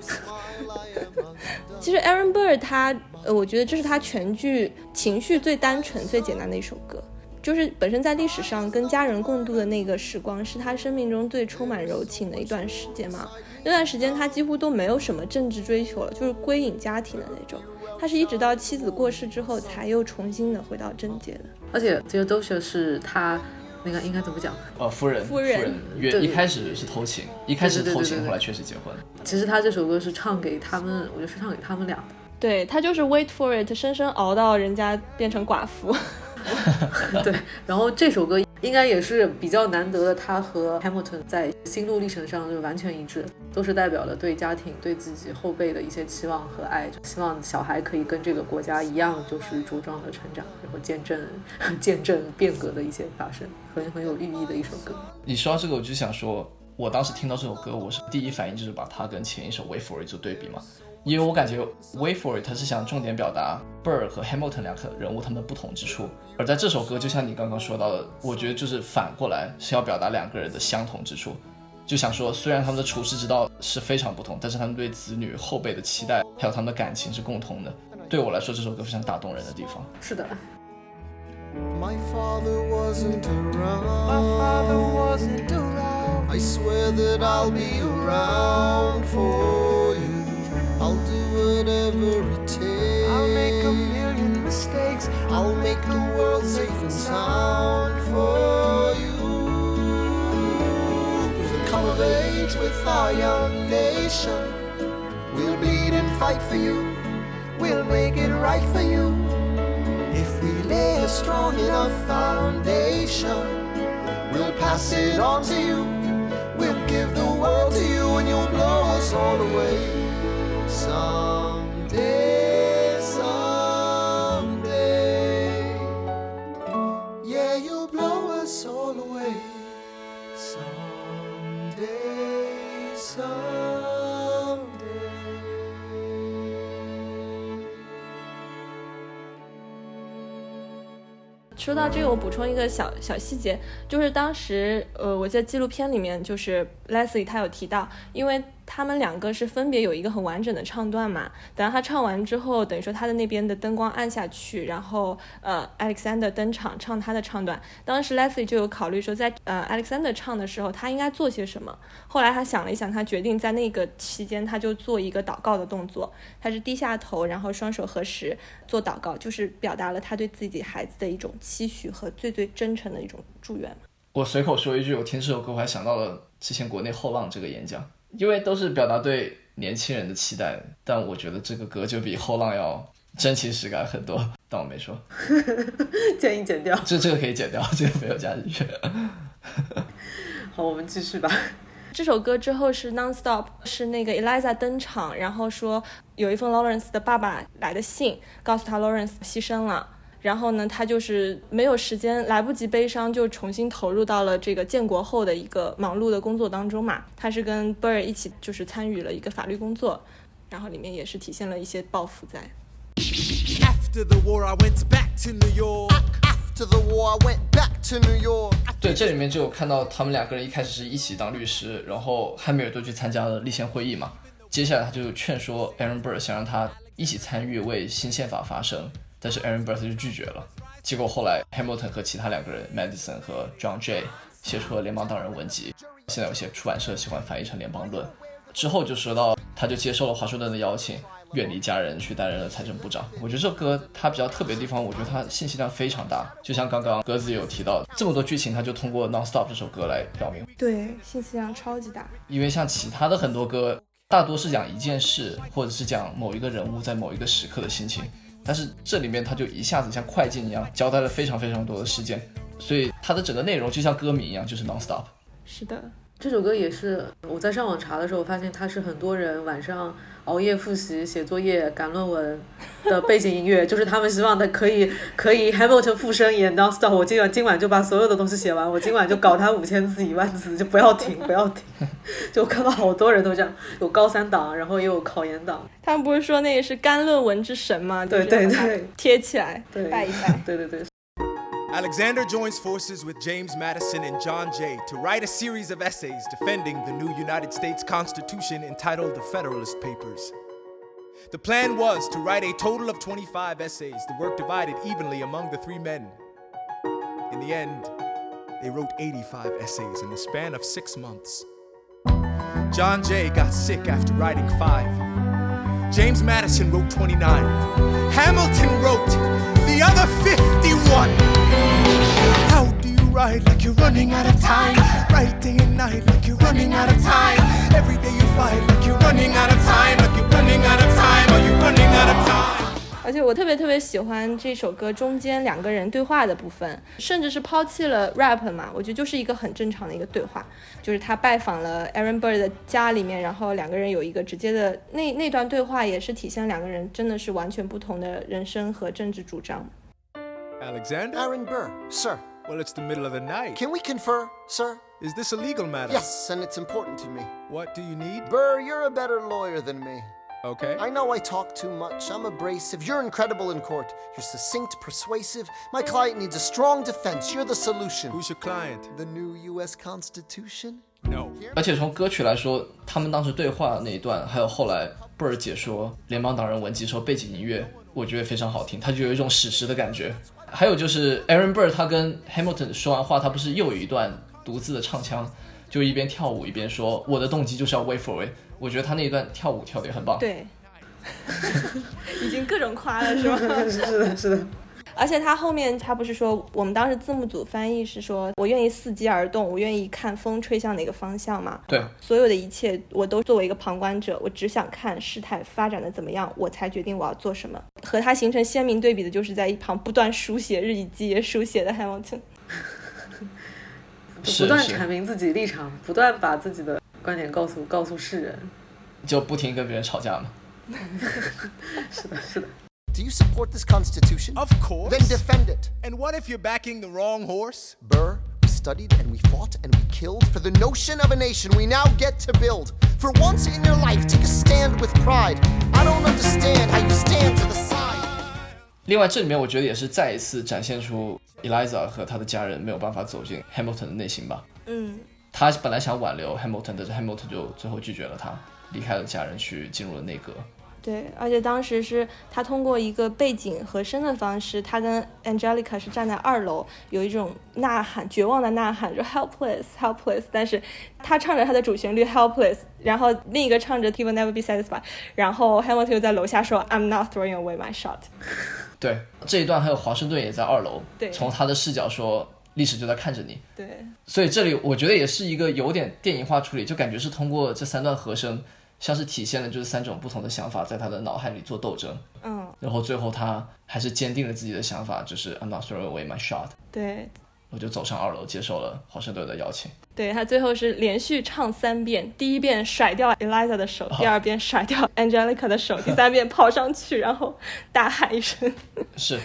其实 Aaron Burr 他我觉得这是他全剧情绪最单纯最简单的一首歌， 就是本身在历史上跟家人共度的那个时光是他生命中最充满柔情的一段时间嘛。那段时间他几乎都没有什么政治追求了，就是归隐家庭的那种。他是一直到妻子过世之后才又重新的回到政界的。 而且Theodosia是他那个应该怎么讲？ 夫人一开始是偷情，后来确实结婚。 其实他这首歌是唱给他们，我觉得是唱给他们俩的。 对，他就是 wait for it， 深深熬到人家变成寡妇。 对，然后这首歌应该也是比较难得的，他和 Hamilton 在心路历程上就完全一致，都是代表了对家庭、对自己后辈的一些期望和爱，希望小孩可以跟这个国家一样，就是茁壮的成长，然后见证变革的一些发生，很有寓意的一首歌。 你说到这个，我就想说，我当时听到这首歌，我是第一反应就是把它跟前一首 Wait for It 做对比嘛。因为我感觉 Wait for It 它是想重点表达 Burr 和 Hamilton 两个人物他们的不同之处，而在这首歌就像你刚刚说到的，我觉得就是反过来是要表达两个人的相同之处，就想说虽然他们的处世之道是非常不同，但是他们对子女后辈的期待还有他们的感情是共同的。对我来说这首歌非常打动人的地方。 是的。 My father wasn't around. I swear that I'll be around for you. I'll do whatever it takes. I'll make a million mistakes. I'll make the world safe and sound for you. We'll come of age with our young nation. We'll bleed and fight for you. We'll make it right for you. If we lay a strong enough foundation, we'll pass it on to you. We'll give the world to you and you'll blow us all away. Someday, someday, yeah, you'll blow us all away. Someday, someday. 说到这个，我补充一个小细节，就是当时我在纪录片里面，就是 Leslie 他有提到，因为他们两个是分别有一个很完整的唱段嘛，等到他唱完之后，等于说他的那边的灯光暗下去，然后Alexander 登场唱他的唱段。当时 Leslie 就有考虑说在Alexander 唱的时候他应该做些什么，后来他想了一想，他决定在那个期间他就做一个祷告的动作，他是低下头然后双手合十做祷告，就是表达了他对自己孩子的一种期许和最真诚的一种祝愿。 我随口说一句，我听这首歌我还想到了之前国内后浪这个演讲，因为都是表达对年轻人的期待，但我觉得这个歌就比后浪要真情实感很多，但我没说。 建议剪掉。 这个可以剪掉，这个没有加进去。 好，我们继续吧。 这首歌之后是 Non-Stop， 是那个 Eliza 登场，然后说有一封 Lawrence 的爸爸来的信，告诉他 Lawrence 牺牲了。然后呢，他就是没有时间，来不及悲伤，就重新投入到了这个建国后的一个忙碌的工作当中嘛。他是跟 Burr 一起就是参与了一个法律工作，然后里面也是体现了一些抱负在。 After the war, I went back to New York. After the war, I went back to New York. 对，这里面就有看到他们两个人一开始是一起当律师，然后汉密尔顿去参加了立宪会议嘛。接下来他就劝说 Aaron Burr 想让他一起参与为新宪法发声。但是 Aaron Burr 就拒绝了，结果后来 Hamilton 和其他两个人 Madison 和 John Jay 写出了联邦党人文集，现在有些出版社喜欢翻译成联邦论。之后就说到他就接受了华盛顿的邀请，远离家人去担任了财政部长。我觉得这首歌它比较特别的地方，我觉得它信息量非常大，就像刚刚鸽子有提到这么多剧情，他就通过 Non-Stop 这首歌来表明。 对，信息量超级大。 因为像其他的很多歌大多是讲一件事，或者是讲某一个人物在某一个时刻的心情，但是这里面它就一下子像快进一样交代了非常非常多的事件，所以它的整个内容就像歌名一样，就是 Non-Stop。 是的， 这首歌也是我在上网查的时候发现它是很多人晚上熬夜复习写作业赶论文的背景音乐，就是他们希望的可以 Hamilton 附身演 Non-Stop， 我今晚就把所有的东西写完，我今晚就搞他5000字10000字，就不要停就我看到好多人都这样，有高三党，然后也有考研党。 他们不是说那也是干论文之神吗？ 对对对， 贴起来拜一拜。 对对对。 Alexander joins forces with James Madison and John Jay to write a series of essays defending the new United States Constitution entitled The Federalist Papers. The plan was to write a total of 25 essays, the work divided evenly among the three men. In the end, they wrote 85 essays in the span of 6 months. John Jay got sick after writing 5. James Madison wrote 29. Hamilton wrote the other 51. How do you write like you're running out of time? Write day and night like you're running out of time. Every day you fight like you're running out of time. Like you're running out of time. Are you running out of time? 而且我特别喜欢这首歌中间两个人对话的部分，甚至是抛弃了 rap 嘛，我觉得就是一个很正常的一个对话，就是他拜访了 Aaron Burr 的家里面，然后两个人有一个直接的那段对话，也是体现两个人真的是完全不同的人生和政治主张。 Alexander? Aaron Burr, sir. Well, it's the middle of the night. Can we confer, sir? Is this a legal matter? Yes, and it's important to me. What do you need? Burr, you're a better lawyer than me. Okay. I know I talk too much. I'm abrasive. You're incredible in court. You're succinct, persuasive. My client needs a strong defense. You're the solution. Who's your client? The new U.S. Constitution? No. 而且从歌曲来说，他们当时对话那一段，还有后来布尔解说联邦党人文集时候背景音乐，我觉得非常好听，它就有一种史诗的感觉。还有就是 Aaron Burr 他跟 Hamilton 说完话，他不是又有一段独自的唱腔，就一边跳舞一边说我的动机就是要 wait for it。我觉得他那一段跳舞跳得也很棒。 对，已经各种夸了是吧？ 是的。 而且他后面他不是说，我们当时字幕组翻译是说，我愿意伺机而动，我愿意看风吹向哪个方向嘛。 对， 所有的一切我都作为一个旁观者，我只想看事态发展的怎么样，我才决定我要做什么。和他形成鲜明对比的就是在一旁不断书写日以继夜书写的 Hamilton， 不断阐明自己立场，不断把自己的观点告诉世人， 就不停跟别人吵架嘛。 是的，是的。 Do you support this Constitution? Of course. Then defend it. And what if you're backing the wrong horse? Burr, we studied and we fought and we killed for the notion of a nation we now get to build. For once in your life, take a stand with pride. I don't understand how you stand to the side. 另外，这里面我觉得也是再一次展现出 Eliza 和他的家人没有办法走进 Hamilton 的内心吧。他本来想挽留 Hamilton， 但是 Hamilton 就最后拒绝了他，离开了家人，去进入了内阁。 对，而且当时是他通过一个背景和声的方式，他跟 Angelica 是站在2楼，有一种呐喊，绝望的呐喊，就 helpless helpless， 但是他唱着他的主旋律 helpless， 然后另一个唱着 He will never be satisfied， 然后 Hamilton 又在楼下说 I'm not throwing away my shot。 对，这一段还有华盛顿也在2楼， 对， 从他的视角说历史就在看着你。 对， 所以这里我觉得也是一个有点电影化处理，就感觉是通过这3段和声像是体现了就是3种不同的想法在他的脑海里做斗争，然后最后他还是坚定了自己的想法，就是 I'm not throwing away my shot。 对， 我就走上2楼接受了华盛顿的邀请。 对，他最后是连续唱3遍，第一遍甩掉 Eliza 的手，第二遍甩掉 Angelica 的手，第3遍跑上去然后大喊一声。 是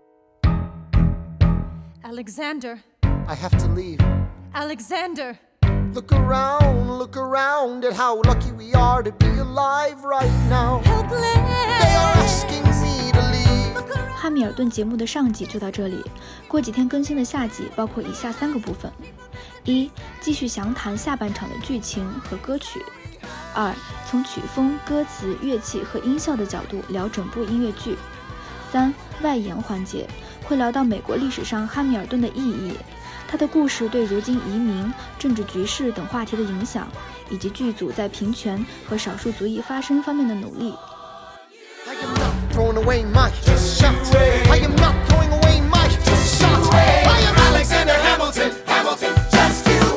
Alexander, I have to leave. Alexander. Look around at how lucky we are to be alive right now. They are asking me to leave. 汉密尔顿节目的上集就到这里，过几天更新的下集包括以下3个部分： 1. 继续详谈下半场的剧情和歌曲； 2. 从曲风、歌词、乐器和音效的角度聊整部音乐剧； 3. 外延环节会聊到美国历史上汉密尔顿的意义，他的故事对如今移民、政治局势等话题的影响，以及剧组在平权和少数族裔发声方面的努力。 I am not throwing away my shot. I am not throwing away my shot. I am Alexander Hamilton. Hamilton, just you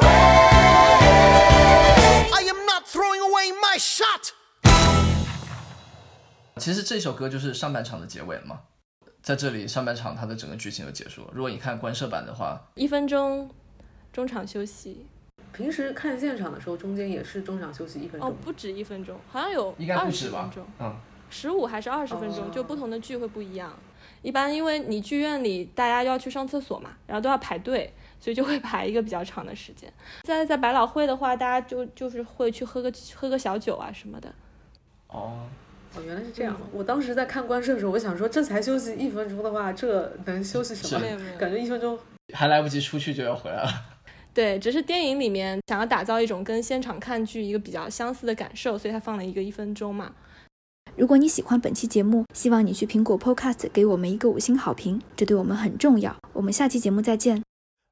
wait. I am not throwing away my shot. 其实这首歌就是上半场的结尾了嘛，在这里上半场它的整个剧情就结束了。如果你看官摄版的话 ，1分钟中场休息。 平时看现场的时候中间也是中场休息1分钟？ 不止1分钟，好像有应该不止 20 吧分钟 ，15 还是20分钟，就不同的剧会不一样。一般因为你剧院里大家要去上厕所嘛，然后都要排队，所以就会排一个比较长的时间。在百老汇的话，大家就是会去喝个小酒啊什么的。 原来是这样。我当时在看官摄的时候，我想说这才休息1分钟的话，这能休息什么？感觉1分钟还来不及出去就要回来了。 对，只是电影里面想要打造一种跟现场看剧一个比较相似的感受，所以他放了一个1分钟嘛。 如果你喜欢本期节目，希望你去苹果 Podcast 给我们一个5星好评，这对我们很重要。我们下期节目再见。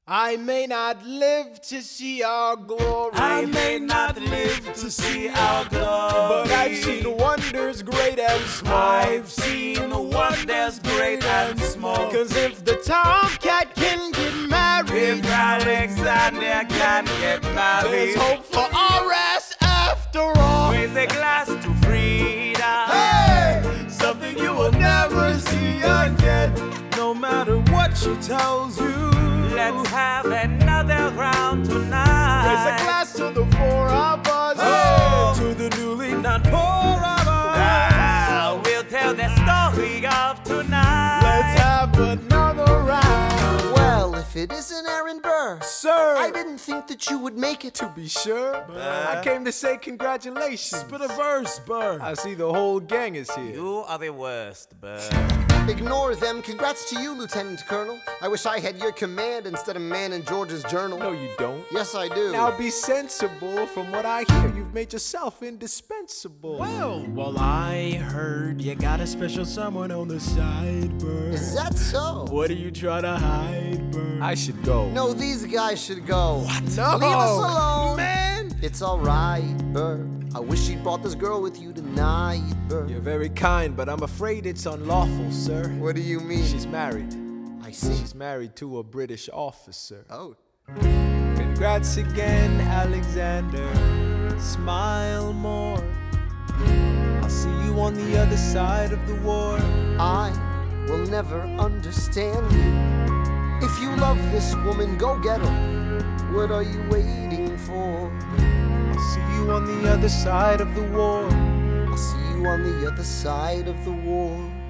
I may not live to see our glory. I may not live to see our glory. But I've seen wonders great and small. I've seen wonders great and small. Cause if the tomcat can get married, if Alexander can get married, there's hope for RS after all. Raise a glass to freedom. Hey! Something you will never see again. No matter what she tells you, let's have another round tonight. Raise a glass to the four of us. Oh, to the newly not poor of us. We'll tell the story of tonight. Let's have another round. Well, if it isn't Aaron Burr, sir, I didn't think that you would make it. To be sure, I came to say congratulations. Spit a verse, Burr. I see the whole gang is here. You are the worst, Burr. Ignore them. Congrats to you, Lieutenant Colonel. I wish I had your command instead of man in George's journal. No, you don't. Yes, I do. Now be sensible. From what I hear, you've made yourself indispensable. Well, I heard you got a special someone on the side, Burr. Is that so? What are you trying to hide, Burr? I should go. No, these guys should go. What? No. Leave us alone. Man. It's alright, Burr. I wish you'd brought this girl with you tonight, Burr. You're very kind, but I'm afraid it's unlawful, sir. What do you mean? She's married. I see. She's married to a British officer. Oh. Congrats again, Alexander. Smile more. I'll see you on the other side of the war. I will never understand you. If you love this woman, go get her. What are you waiting for? I'll see you on the other side of the war. I'll see you on the other side of the war.